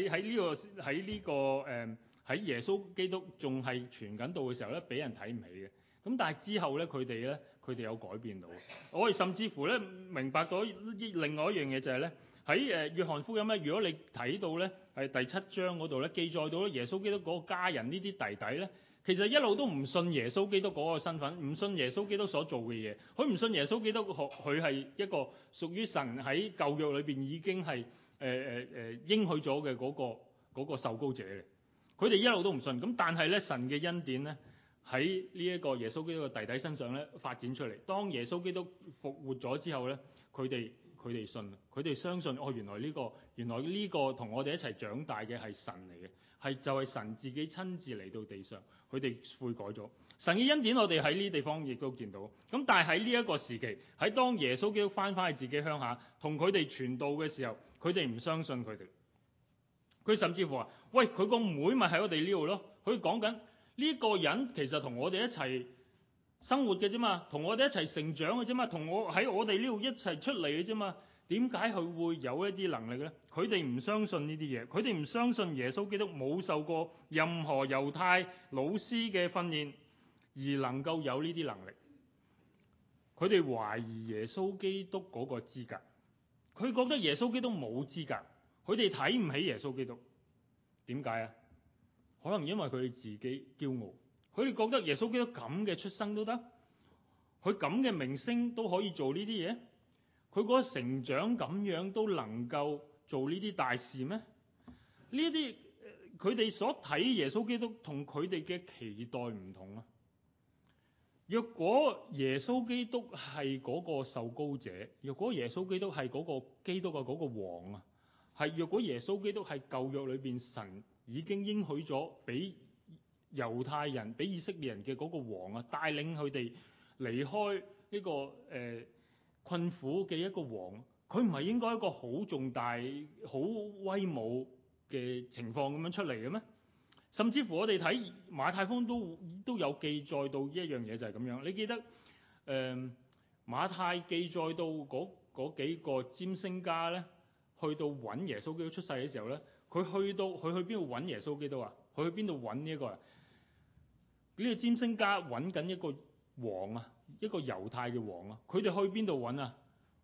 喺耶穌基督仲係傳緊道嘅時候咧，俾人睇唔起嘅。咁但係之後咧，佢哋有改變到。我哋甚至乎咧明白到另外一樣嘢就係咧，喺約翰福音咧，如果你睇到咧係第7章嗰度咧，記載到咧耶穌基督嗰個家人呢啲弟弟咧，其實一路都唔信耶穌基督嗰個身份，唔信耶穌基督所做嘅嘢，佢唔信耶穌基督佢係一個屬於神喺舊約裏邊已經係應許咗嘅嗰個受膏者嘅。佢哋一路都唔信，咁但係咧神嘅恩典咧喺呢一個耶穌基督嘅弟弟身上咧發展出嚟。當耶穌基督復活咗之後咧，佢哋信，佢哋相信原來呢個同我哋一齊長大嘅係神嚟嘅，就係神自己親自嚟到地上，佢哋悔改咗。神嘅恩典我哋喺呢啲地方亦都見到。咁但係喺呢一個時期，喺當耶穌基督翻返去自己鄉下，同佢哋傳道嘅時候，佢哋唔相信佢哋。佢甚至乎話：喂，佢個妹咪喺我哋呢度咯。佢講緊呢個人其實同我哋一齊生活嘅啫嘛，同我哋一齊成長嘅啫嘛，同我喺我哋呢度一齊出嚟嘅啫嘛。點解佢會有一啲能力呢？佢哋唔相信呢啲嘢，佢哋唔相信耶穌基督冇受過任何猶太老師嘅訓練而能夠有呢啲能力。佢哋懷疑耶穌基督嗰個資格，佢覺得耶穌基督冇資格。佢哋睇唔起耶穌基督，點解啊？可能因為佢哋自己驕傲，佢哋覺得耶穌基督咁嘅出生都得，佢咁嘅名聲都可以做呢啲嘢，佢嗰個成長咁樣都能夠做呢啲大事咩？呢啲佢哋所睇耶穌基督同佢哋嘅期待唔同啊！若果耶穌基督係嗰個受膏者，若果耶穌基督係嗰個基督嘅嗰個王啊！若果耶穌基督係舊約裏邊神已經應許咗俾猶太人、俾以色列人嘅嗰個王啊，帶領佢哋離開呢個困苦嘅一個王，佢唔係應該一個好重大、好威武嘅情況咁樣出嚟嘅咩？甚至乎我哋睇馬太福音都有記載到一樣嘢就係咁樣。你記得馬太記載到嗰幾個占星家咧？去到揾耶穌基督出世嘅時候咧，佢去邊度揾耶穌基督啊？佢去邊度揾呢一個啊？呢個占星家揾緊一個王啊，一個猶太嘅王啊。佢哋去邊度揾啊？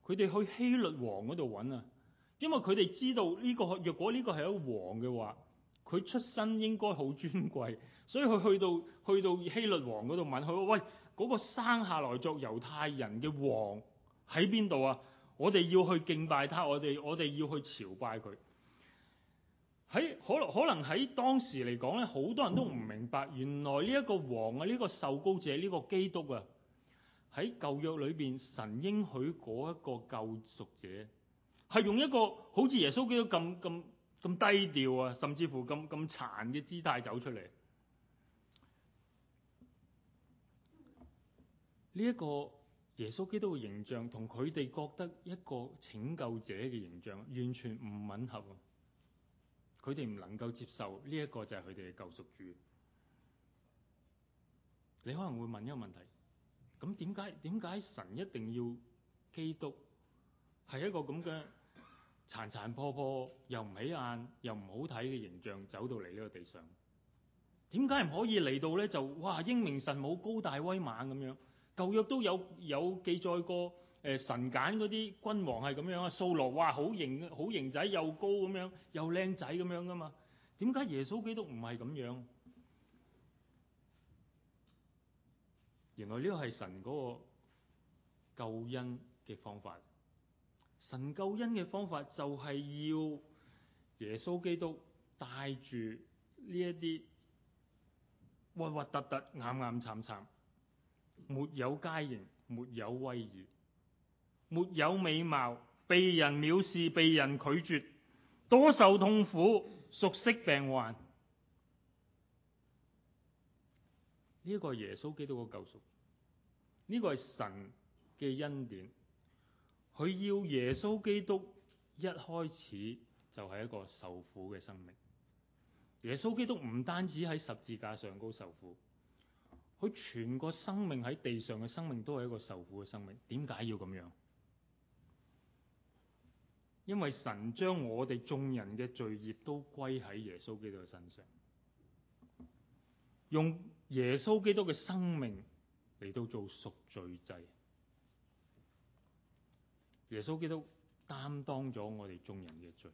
佢哋去希律王嗰度揾啊，因為佢哋知道若果呢個係一個王嘅話，佢出身應該好尊貴，所以佢去到希律王嗰度問佢話：喂，嗰個生下來作猶太人嘅王喺邊度啊？我哋要去敬拜他，我哋要去朝拜佢。可能喺當時嚟講咧，好多人都唔明白，原來呢一個王啊，呢個受膏者，呢個基督啊，喺舊約裏邊神應許嗰一個救贖者，係用一個好似耶穌基督咁低調啊，甚至乎咁殘嘅姿態走出嚟。呢一個耶穌基督嘅形象同佢哋覺得一個拯救者嘅形象完全唔吻合。佢哋唔能夠接受呢一個就係佢哋嘅救贖主。你可能會問一個問題：咁點解神一定要基督係一個咁嘅殘殘破破又唔起眼又唔好睇嘅形象走到嚟呢個地上？點解唔可以嚟到咧就哇英明神武高大威猛咁樣？舊約都有記載過。神揀嗰啲君王係咁樣啊，掃羅哇好型仔，又高咁樣，又靚仔咁樣噶嘛？點解耶穌基督唔係咁樣？原來呢個係神嗰個救恩嘅方法。神救恩嘅方法就係要耶穌基督帶住呢一啲核核突突、岩岩巉巉、沒有佳形、沒有威儀、沒有美貌、被人藐視、被人拒絕、多受痛苦、熟悉病患。呢一個係耶穌基督嘅救贖，呢個係神嘅恩典。佢要耶穌基督一開始就係一個受苦嘅生命。耶穌基督唔單止喺十字架上高受苦，佢全個生命喺地上嘅生命都係一個受苦嘅生命。點解要咁樣？因為神將我哋眾人嘅罪孽都歸喺耶穌基督嘅身上，用耶穌基督嘅生命嚟到做贖罪祭。耶穌基督擔當咗我哋眾人嘅罪。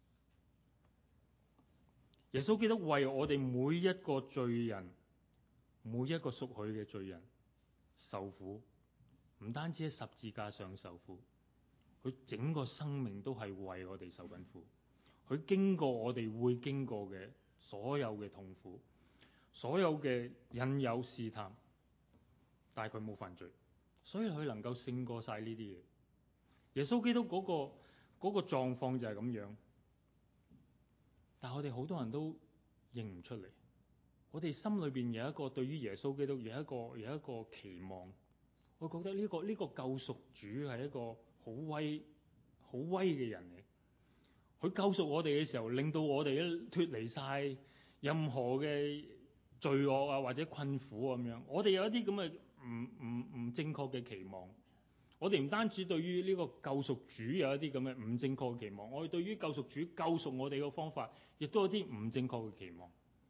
耶穌基督為我哋每一個罪人，每一個屬佢嘅罪人受苦，唔單止喺十字架上受苦。佢整個生命都係為我哋受緊苦，佢經過我哋會經過嘅所有嘅痛苦，所有嘅引誘試探，但係佢冇犯罪，所以佢能夠勝過晒呢啲嘢。耶穌基督嗰個狀況就係咁樣，但係我哋好多人都認唔出嚟。我哋心裏邊有一個對於耶穌基督有一個期望，我覺得呢個救贖主係一個好威嘅人嚟，佢救贖我哋嘅時候，令到我哋脫離晒任何嘅罪惡啊或者困苦咁樣。我哋有一啲咁嘅唔正確嘅期望。我哋唔單止對於呢個救贖主有一啲咁嘅唔正確嘅期望，我哋對於救贖主救贖我哋嘅方法，亦都有啲唔正確嘅期望。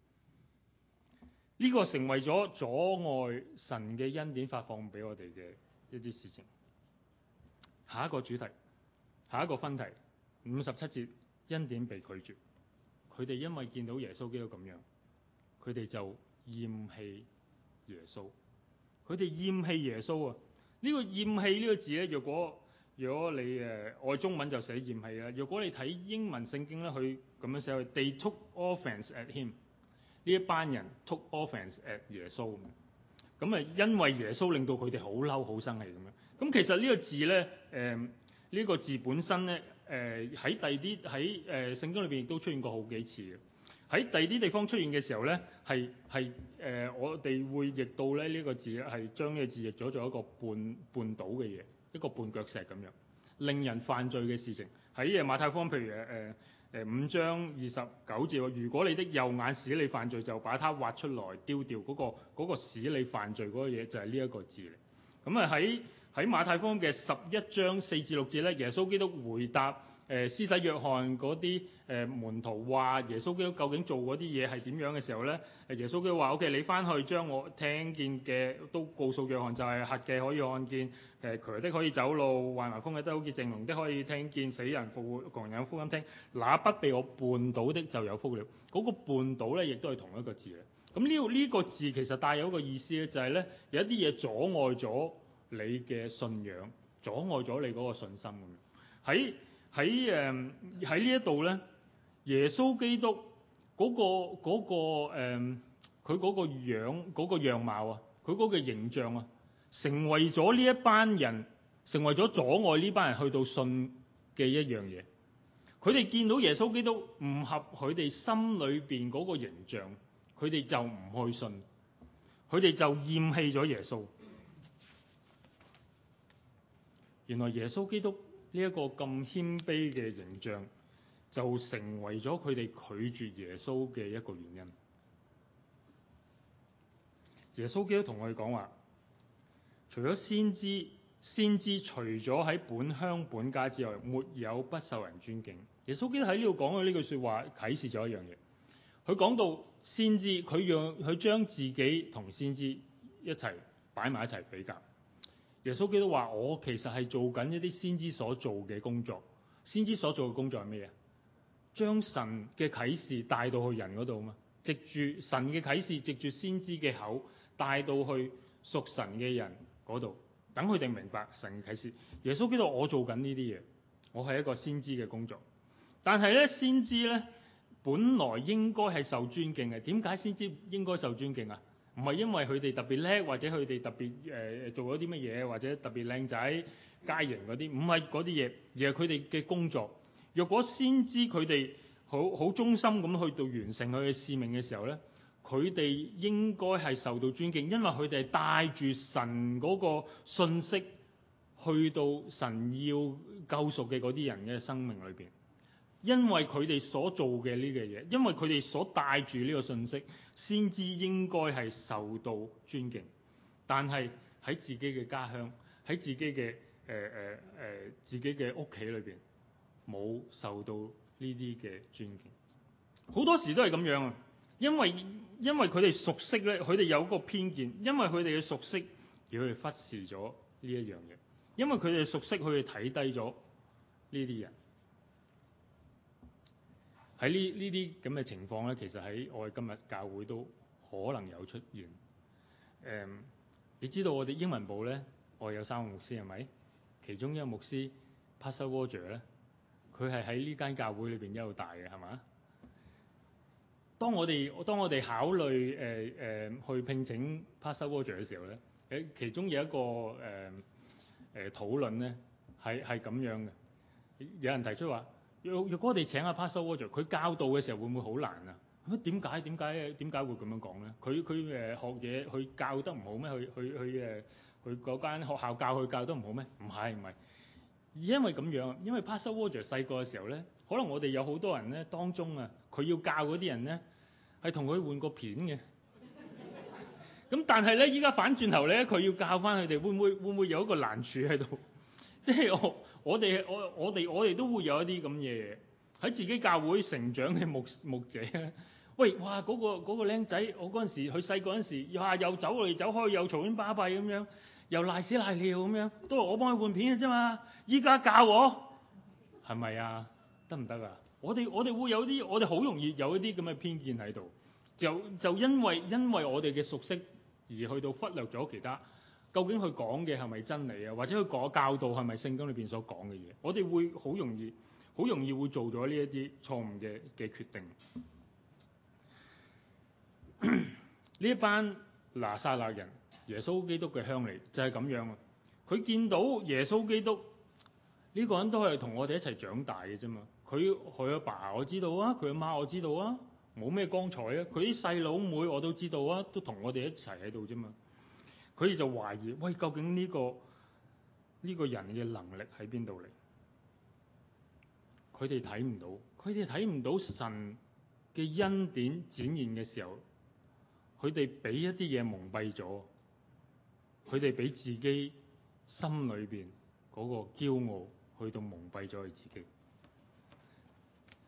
呢個成為咗阻礙神嘅恩典發放俾我哋嘅一啲事情。下一個主題，下一個分題，57節，恩典被拒絕。佢哋因為見到耶穌基督咁樣，佢哋就厭棄耶穌。佢哋厭棄耶穌啊！呢個厭棄呢個字咧，若果你愛中文就寫厭棄啦。若果你睇英文聖經咧，佢咁樣寫，They took offense at him。呢一班人 took offense at 耶穌。咁啊，因為耶穌令到佢哋好嬲、好生氣咁樣。咁其實呢個字咧，呢個字本身咧，喺第二啲喺聖經裏邊亦都出現過好幾次嘅。喺第二啲地方出現嘅時候咧，係我哋會譯到咧呢個字係將呢個字譯咗做一個絆倒嘅嘢，一個絆腳石咁樣，令人犯罪嘅事情。喺馬太福音譬如5章29節，如果你的右眼使你犯罪，就把它挖出來丟掉。嗰個使你犯罪嗰個嘢就係呢一個字嚟。咁啊喺馬太福音嘅11章4至6節咧，耶穌基督回答施洗約翰嗰啲門徒話耶穌基督究竟做嗰啲嘢係點樣嘅時候咧，耶穌基督話：O.K. 你翻去將我聽見嘅都告訴約翰，就係瞎嘅可以看見，瘸的可以走路，患麻風嘅都好似正聾的可以聽見，死人復活，狂人有福音聽。那不被我絆倒的就有福了。嗰、那個絆倒咧，亦都係同一個字嚟。咁呢個字其實帶有一個意思咧，就係咧有一啲嘢阻礙咗你嘅信仰，阻礙咗你嗰個信心咁。喺呢一度咧，耶穌基督佢嗰個樣嗰個樣貌啊，佢嗰個形象啊，成為咗呢一班人，成為咗阻礙呢班人去到信嘅一樣嘢。佢哋見到耶穌基督唔合佢哋心裏邊嗰個形象，佢哋就唔去信，佢哋就厭棄咗耶穌。原來耶穌基督呢一個咁謙卑嘅形象，就成為咗佢哋拒絕耶穌嘅一個原因。耶穌基督同我哋講話，除咗先知除咗喺本鄉本家之外，沒有不受人尊敬。耶穌基督喺呢度講嘅呢句說話，啟示咗一樣嘢。佢講到先知，佢將自己同先知一齊擺埋一齊比較。耶穌基督話：我其實係做緊一啲先知所做嘅工作。先知所做嘅工作係咩啊？將神嘅啟示帶到去人嗰度嘛，藉住神嘅啟示，藉住先知嘅口帶到去屬神嘅人嗰度，等佢哋明白神嘅啟示。耶穌基督，我做緊呢啲嘢，我係一個先知嘅工作。但係咧，先知咧本來應該係受尊敬嘅。點解先知應該受尊敬啊？唔係因為佢哋特別叻，或者佢哋特別做咗啲乜嘢，或者特別靚仔佳型嗰啲，唔係嗰啲嘢，而係佢哋嘅工作。若果先知佢哋好忠心咁去到完成佢嘅使命嘅時候咧，佢哋應該係受到尊敬，因為佢哋係帶住神嗰個信息去到神要救贖嘅嗰啲人嘅生命裏邊。因為佢哋所做嘅呢個嘢，因為佢哋所帶住呢個信息，先知應該係受到尊敬。但係喺自己嘅家鄉，喺自己嘅自己嘅屋企裏邊，冇受到呢啲嘅尊敬。好多時都係咁樣啊！因為佢哋熟悉咧，佢哋有個偏見，因為佢哋嘅熟悉而佢哋忽視咗呢一樣嘢，因為佢哋熟悉，佢哋睇低咗呢啲人。喺呢啲咁嘅情況咧，其實喺我哋今日教會都可能有出現。你知道我哋英文部咧，我哋有3個牧師係咪？其中一個牧師 Pastor Roger 咧，佢係喺呢間教會裏邊一路大嘅，係嘛？當我哋考慮去聘請 Pastor Roger 嘅時候咧，其中有一個討論咧係咁樣嘅。有人提出話：若果我哋請阿 Pastor Roger， 佢教導嘅時候會唔會好難啊？咁點解會咁樣講咧？佢學嘢，佢教得唔好咩？佢嗰間學校佢教得唔好咩？唔係，因為咁樣，因為 Pastor Roger 細個嘅時候咧，可能我哋有好多人咧當中啊，佢要教嗰啲人咧係同佢換過片嘅。咁但係咧，依家反轉頭咧，佢要教翻佢哋，會唔會有一個難處喺度？即係我哋都會有一啲咁嘅嘢喺自己教會成長嘅牧者咧。喂，哇！嗰個僆仔，我嗰陣時佢細個嗰陣時，又走嚟走去，又嘈喧巴閉咁樣，又賴屎賴尿咁樣，都係我幫佢換片嘅啫嘛。依家教我係咪啊？得唔得啊？我哋會有啲，我哋好容易有一啲咁嘅偏見喺度，就因為我哋嘅熟悉而去到忽略咗其他。究竟佢講嘅係咪真理啊？或者佢講教導係咪聖經裏邊所講嘅嘢？我哋會好容易會做咗呢一啲錯誤嘅決定。呢一班拿撒勒人，耶穌基督嘅鄉里就係咁樣啊！佢見到耶穌基督呢個人都係同我哋一齊長大嘅啫嘛。佢阿爸我知道啊，佢阿媽我知道啊，冇咩光彩啊。佢啲細佬妹我都知道啊，都同我哋一齊喺度啫嘛。佢哋就懷疑：喂，究竟呢個人嘅能力喺邊度嚟？佢哋睇唔到神嘅恩典展現嘅時候，佢哋俾一啲嘢蒙蔽咗，佢哋俾自己心裏邊嗰個驕傲去到蒙蔽咗佢自己。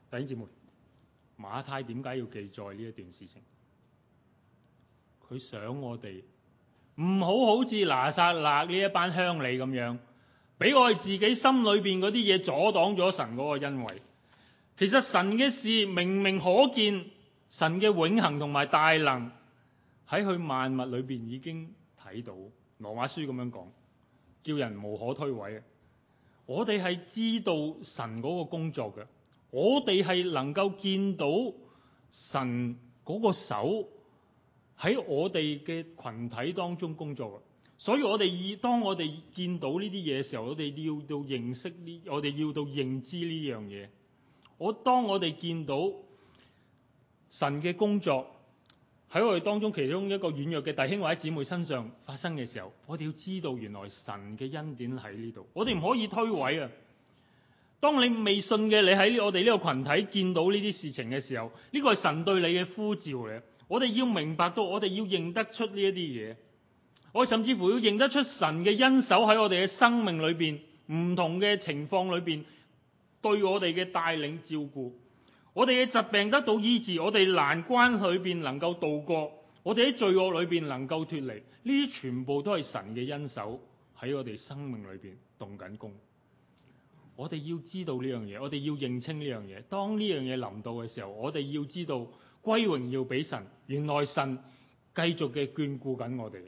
弟兄姊妹，馬太點解要記載呢一段事情？佢想我哋唔好似拿撒勒呢一班鄉里咁樣，俾我哋自己心裏邊嗰啲嘢阻擋咗神嗰個恩惠。其實神嘅事明明可見，神嘅永恆同埋大能喺佢萬物裏邊已經睇到。羅馬書咁樣講，叫人無可推諉。我哋係知道神嗰個工作嘅，我哋係能夠見到神嗰個手喺我哋嘅群體當中工作嘅。所以我哋當我哋見到呢啲嘢嘅時候，我哋要到認識呢，我哋要到認知呢樣嘢。當我哋見到神嘅工作喺我哋當中其中一個軟弱嘅弟兄或者姊妹身上發生嘅時候，我哋要知道原來神嘅恩典喺呢度，我哋唔可以推諉啊！當你未信嘅，你喺我哋呢個群體見到呢啲事情嘅時候，呢個係神對你嘅呼召嚟。我哋要明白到，我哋要認得出呢一啲嘢，我甚至乎要認得出神嘅恩手喺我哋嘅生命裏邊，唔同嘅情況裏邊對我哋嘅帶領照顧。我哋嘅疾病得到醫治，我哋難關裏邊能夠度過，我哋喺罪惡裏邊能夠脫離，呢啲全部都係神嘅恩手喺我哋生命裏邊動緊工。我哋要知道呢樣嘢，我哋要認清呢樣嘢。當呢樣嘢臨到嘅時候，我哋要知道歸榮耀俾神，原來神繼續嘅眷顧緊我哋。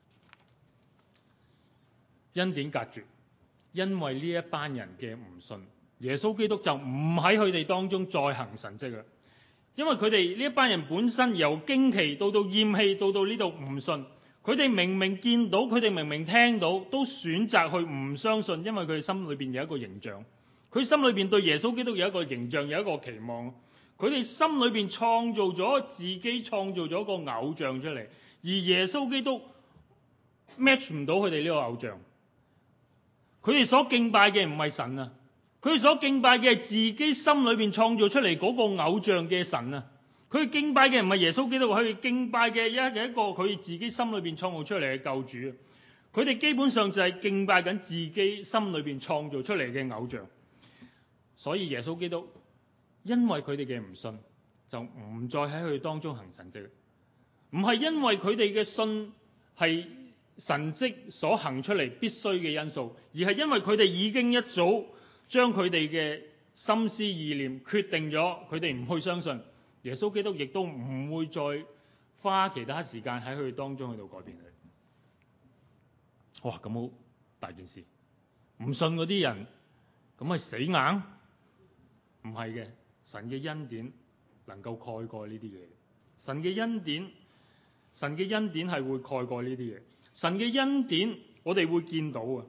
恩典隔絕，因為呢一班人嘅唔信。耶穌基督就唔喺佢哋當中再行神蹟啦，因為佢哋呢一班人本身由驚奇到厭棄到呢度唔信，佢哋明明見到，佢哋明明聽到，都選擇去唔相信，因為佢哋心裏邊有一個形象，佢心裏邊對耶穌基督有一個形象，有一個期望，佢哋心裏邊創造咗自己創造咗個偶像出嚟，而耶穌基督 match 唔到佢哋呢個偶像，佢哋所敬拜嘅唔係神啊。佢所敬拜嘅係自己心裏邊創造出嚟嗰個偶像嘅神啊！佢敬拜嘅唔係耶穌基督，佢敬拜嘅一個佢自己心裏邊創造出嚟嘅救主。佢哋基本上就係敬拜緊自己心裏邊創造出嚟嘅偶像。所以耶穌基督因為佢哋嘅唔信，就唔再喺佢哋當中行神蹟。唔係因為佢哋嘅信係神蹟所行出嚟必須嘅因素，而係因為佢哋已經一早將佢哋嘅心思意念決定咗，佢哋唔去相信耶穌基督，亦都唔會再花其他時間喺佢哋當中去到改變佢。哇，咁好大件事！唔信嗰啲人，咁係死硬？唔係嘅，神嘅恩典能夠蓋過呢啲嘢。神嘅恩典係會蓋過呢啲嘢。神嘅恩典，我哋會見到啊！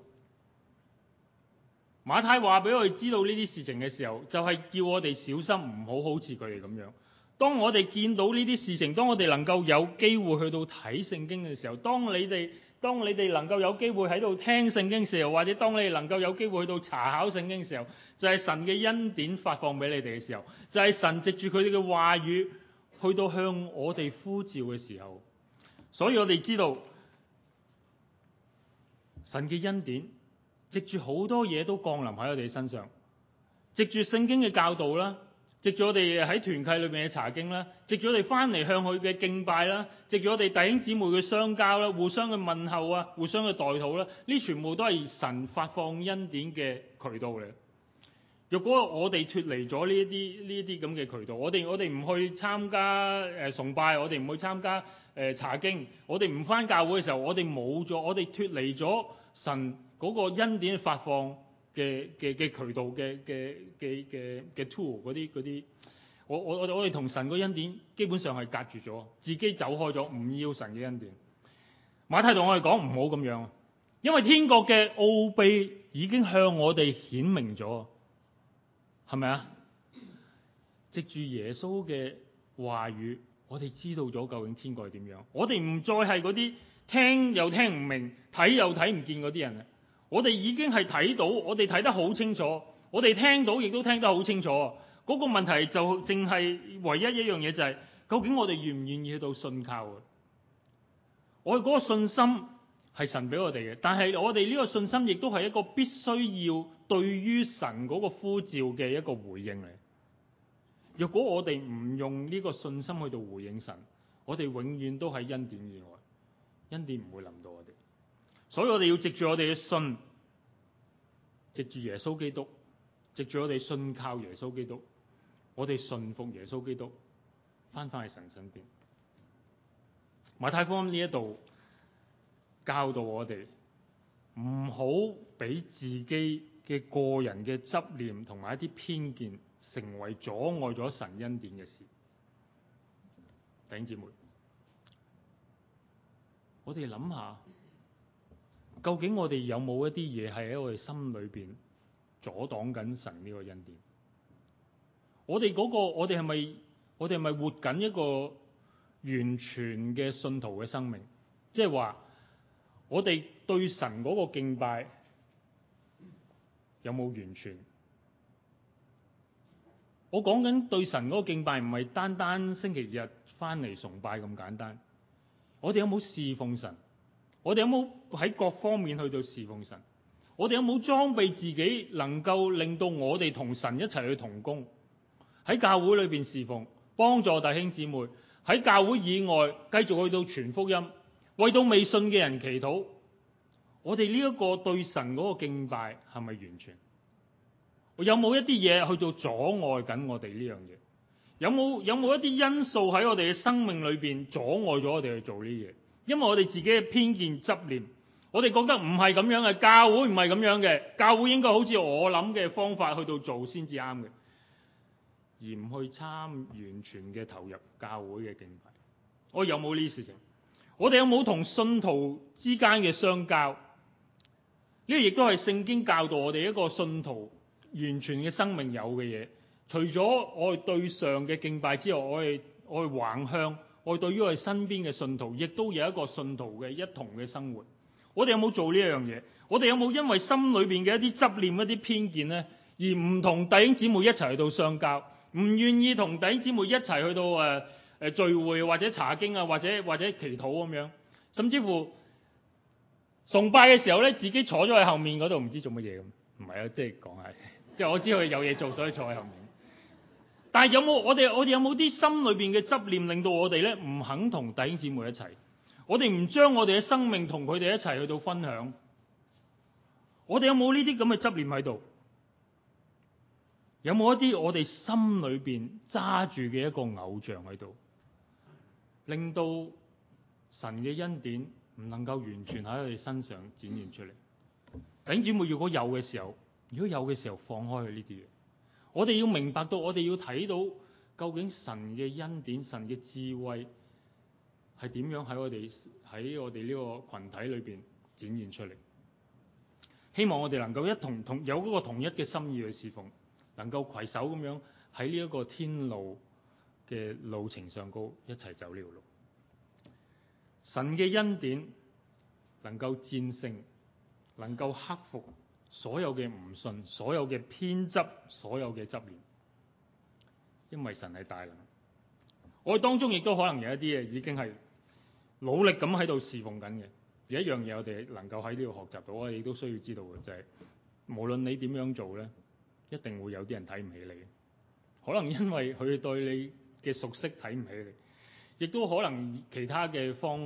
馬太話俾我哋知道呢啲事情嘅時候，就係叫我哋小心，唔好似佢哋咁樣。當我哋見到呢啲事情，當我哋能夠有機會去到睇聖經嘅時候，當你哋能夠有機會喺度聽聖經嘅時候，或者當你哋能夠有機會去到查考聖經嘅時候，就係神嘅恩典發放俾你哋嘅時候，就係神藉住佢哋嘅話語去到向我哋呼召嘅時候。所以我哋知道神嘅恩典藉住好多嘢都降臨喺我哋身上，藉住聖經嘅教導啦，藉住我哋喺團契裏面嘅查經啦，藉住我哋翻嚟向佢嘅敬拜啦，藉住我哋弟兄姊妹嘅相交啦，互相嘅問候啊，互相嘅代禱啦，呢全部都係神發放恩典嘅渠道嚟。如果我哋脫離咗呢一啲咁嘅渠道，我哋唔去參加崇拜，我哋唔去參加查經，我哋唔翻教會嘅時候，我哋冇咗，我哋脫離咗神嗰個恩典發放嘅渠道嘅 tool 嗰啲，我哋同神個恩典基本上係隔絕咗，自己走開咗，唔要神嘅恩典。馬太同我哋講唔好咁樣，因為天國嘅奧秘已經向我哋顯明咗，係咪啊？藉住耶穌嘅話語，我哋知道咗究竟天國係點樣，我哋唔再係嗰啲聽又聽唔明、睇又睇唔見嗰啲人。我哋已經係睇到，我哋睇得好清楚，我哋聽到亦都聽得好清楚。嗰個問題就淨係唯一一樣嘢，就係究竟我哋願唔願意去到信靠啊？我哋嗰個信心係神俾我哋嘅，但係我哋呢個信心亦都係一個必須要對於神嗰個呼召嘅一個回應嚟。 若果我哋唔用呢個信心去到回應神，我哋永遠都喺恩典以外，恩典唔會臨到我哋。所以我哋要藉住我哋嘅信，藉住耶穌基督，藉住我哋信靠耶穌基督，我哋信服耶穌基督，翻返去神身邊。馬太福音呢一度教導我哋唔好俾自己嘅個人嘅執念同埋一啲偏見成為阻礙咗神恩典嘅事。弟兄姊妹，我哋諗下，究竟我哋有冇一啲嘢係喺我哋心裏邊阻擋緊神呢個恩典？我哋係咪活緊一個完全嘅信徒嘅生命？即係話我哋對神嗰個敬拜有冇完全？我講緊對神嗰個敬拜唔係單單星期日翻嚟崇拜咁簡單。我哋有冇侍奉神？我哋有冇喺各方面去到侍奉神？我哋有冇裝備自己能夠令到我哋同神一齊去同工？喺教會裏邊侍奉，幫助弟兄姊妹；喺教會以外繼續去到傳福音，為到未信嘅人祈禱。我哋呢一個對神嗰個敬拜係咪完全？有冇一啲嘢去到阻礙緊我哋呢樣嘢？有冇一啲因素喺我哋嘅生命裏邊阻礙咗我哋去做呢嘢？因為我哋自己嘅偏見執念，我哋覺得唔係咁樣嘅，教會唔係咁樣嘅，教會應該好似我諗嘅方法去到做先至啱嘅，而唔去完全嘅投入教會嘅敬拜。我有冇呢啲事情？我哋有冇同信徒之間嘅相交？呢個亦都係聖經教導我哋一個信徒完全嘅生命有嘅嘢。除咗我哋對上嘅敬拜之外，我哋橫向，我哋對於我哋身邊嘅信徒，亦都有一個信徒嘅一同嘅生活。我哋有冇做呢樣嘢？我哋有冇因為心裏邊嘅一啲執念、一啲偏見呢，而唔同弟兄姊妹一齊去到相交，唔願意同弟兄姊妹一齊去到聚會或者查經啊，或者祈禱咁樣，甚至乎崇拜嘅時候咧，自己坐咗喺後面嗰度，唔知做乜嘢咁。唔係啊，即係講下，即係我知佢有嘢做，所以坐喺後面。但係我哋有冇啲心裏邊嘅執念，令到我哋咧唔肯同弟兄姊妹一齊？我哋唔將我哋嘅生命同佢哋一齊去到分享。我哋有冇呢啲咁嘅執念喺度？有冇一啲我哋心裏邊揸住嘅一個偶像喺度，令到神嘅恩典唔能夠完全喺佢哋身上展現出嚟？弟兄姊妹，如果有嘅時候，放開佢呢啲嘢。我哋要明白到，我哋要睇到究竟神嘅恩典、神嘅智慧係點樣喺我哋呢個群體裏邊展現出嚟。希望我哋能夠有嗰個同一嘅心意去侍奉，能夠攜手咁樣喺呢一個天路嘅路程上高一齊走呢條路。神嘅恩典能夠戰勝，能夠克服所有嘅唔信，所有嘅偏執，所有嘅執念，因為神係大能。我哋當中亦都可能有一啲嘢已經係努力咁喺度侍奉緊嘅。有一樣嘢我哋能夠喺呢度學習到，我哋都需要知道嘅就係，無論你點樣做呢，一定會有啲人睇唔起你。可能因為佢對你嘅熟悉睇唔起你，亦都可能其他嘅方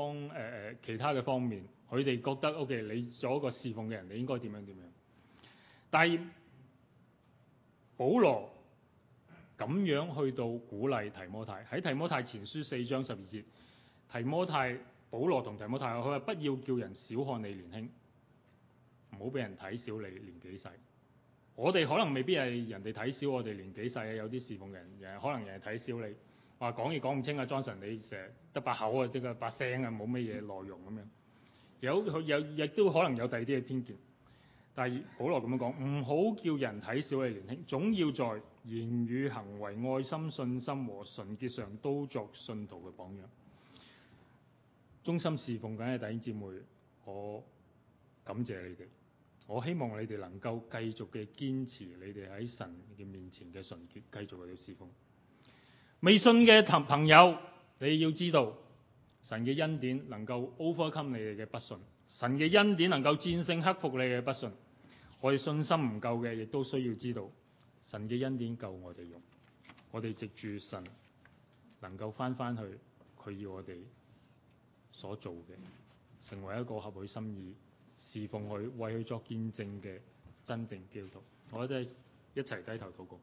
面，佢哋覺得 OK， 你做一個侍奉嘅人，你應該點樣。但係保羅咁樣去到鼓勵提摩太，喺提摩太前書4章12節，保羅同提摩太佢話，不要叫人小看你年輕，唔好俾人睇小你年紀細。我哋可能未必係人哋睇小我哋年紀細，有啲侍奉人可能人哋睇小你，話講嘢講唔清啊，Johnson 你成日得把口啊，即係把聲啊，冇乜嘢內容咁樣。有亦都可能有第二啲嘅偏見。但係保羅咁樣講，唔好叫人睇小你年輕，總要在言語、行為、愛心、信心和純潔上都作信徒嘅榜樣。忠心侍奉緊嘅弟兄姊妹，我感謝你哋。我希望你哋能夠繼續嘅堅持你哋喺神嘅面前嘅純潔，繼續去侍奉。未信嘅朋友，你要知道神嘅恩典能夠 overcome 你哋嘅不信，神嘅恩典能夠戰勝克服你嘅不信。我哋信心唔夠嘅，亦都需要知道神嘅恩典夠我哋用。 我哋藉住神能夠翻去佢要我哋所做嘅，成為一個合佢心意、侍奉佢、為佢作見證嘅真正基督徒。我哋一齊低頭禱告。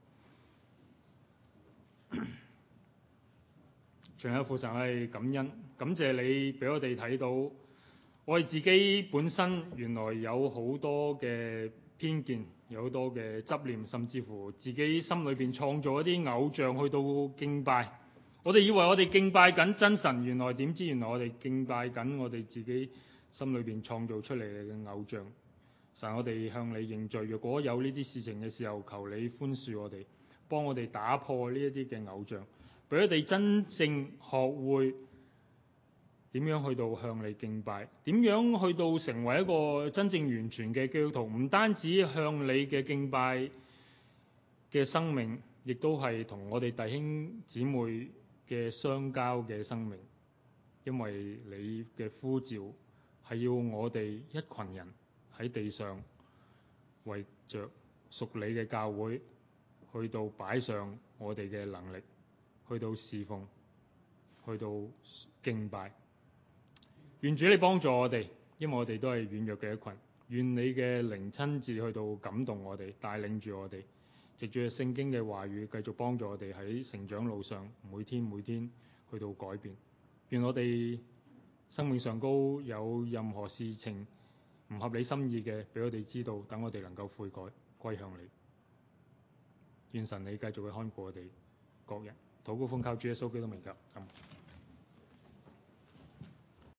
全有父神係感恩，感謝你俾我哋睇到，我哋自己本身原來有好多嘅偏見，有好多嘅執念，甚至乎自己心裏邊創造一啲偶像去到敬拜。我哋以為我哋敬拜緊真神，原來點知原來我哋敬拜緊我哋自己心裏邊創造出嚟嘅偶像。神，我哋向你認罪，若果有呢啲事情嘅時候，求你寬恕我哋，幫我哋打破呢一啲嘅偶像，俾我哋真正學會點樣去到向你敬拜，點樣去到成為一個真正完全嘅基督徒。唔單止向你嘅敬拜嘅生命，亦都係同我哋弟兄姊妹嘅相交嘅生命。因為你嘅呼召係要我哋一群人喺地上為着屬你嘅教會去到擺上我哋嘅能力，去到侍奉，去到敬拜。願主你幫助我哋，因為我哋都係軟弱嘅一群。願你嘅靈親自去到感動我哋，帶領住我哋，藉住聖經嘅話語繼續幫助我哋喺成長路上每天去到改變。願我哋生命上高有任何事情唔合你心意嘅，俾我哋知道，等我哋能夠悔改歸向你。願神你繼續去看顧我哋各人。禱告奉靠主耶穌基督名求。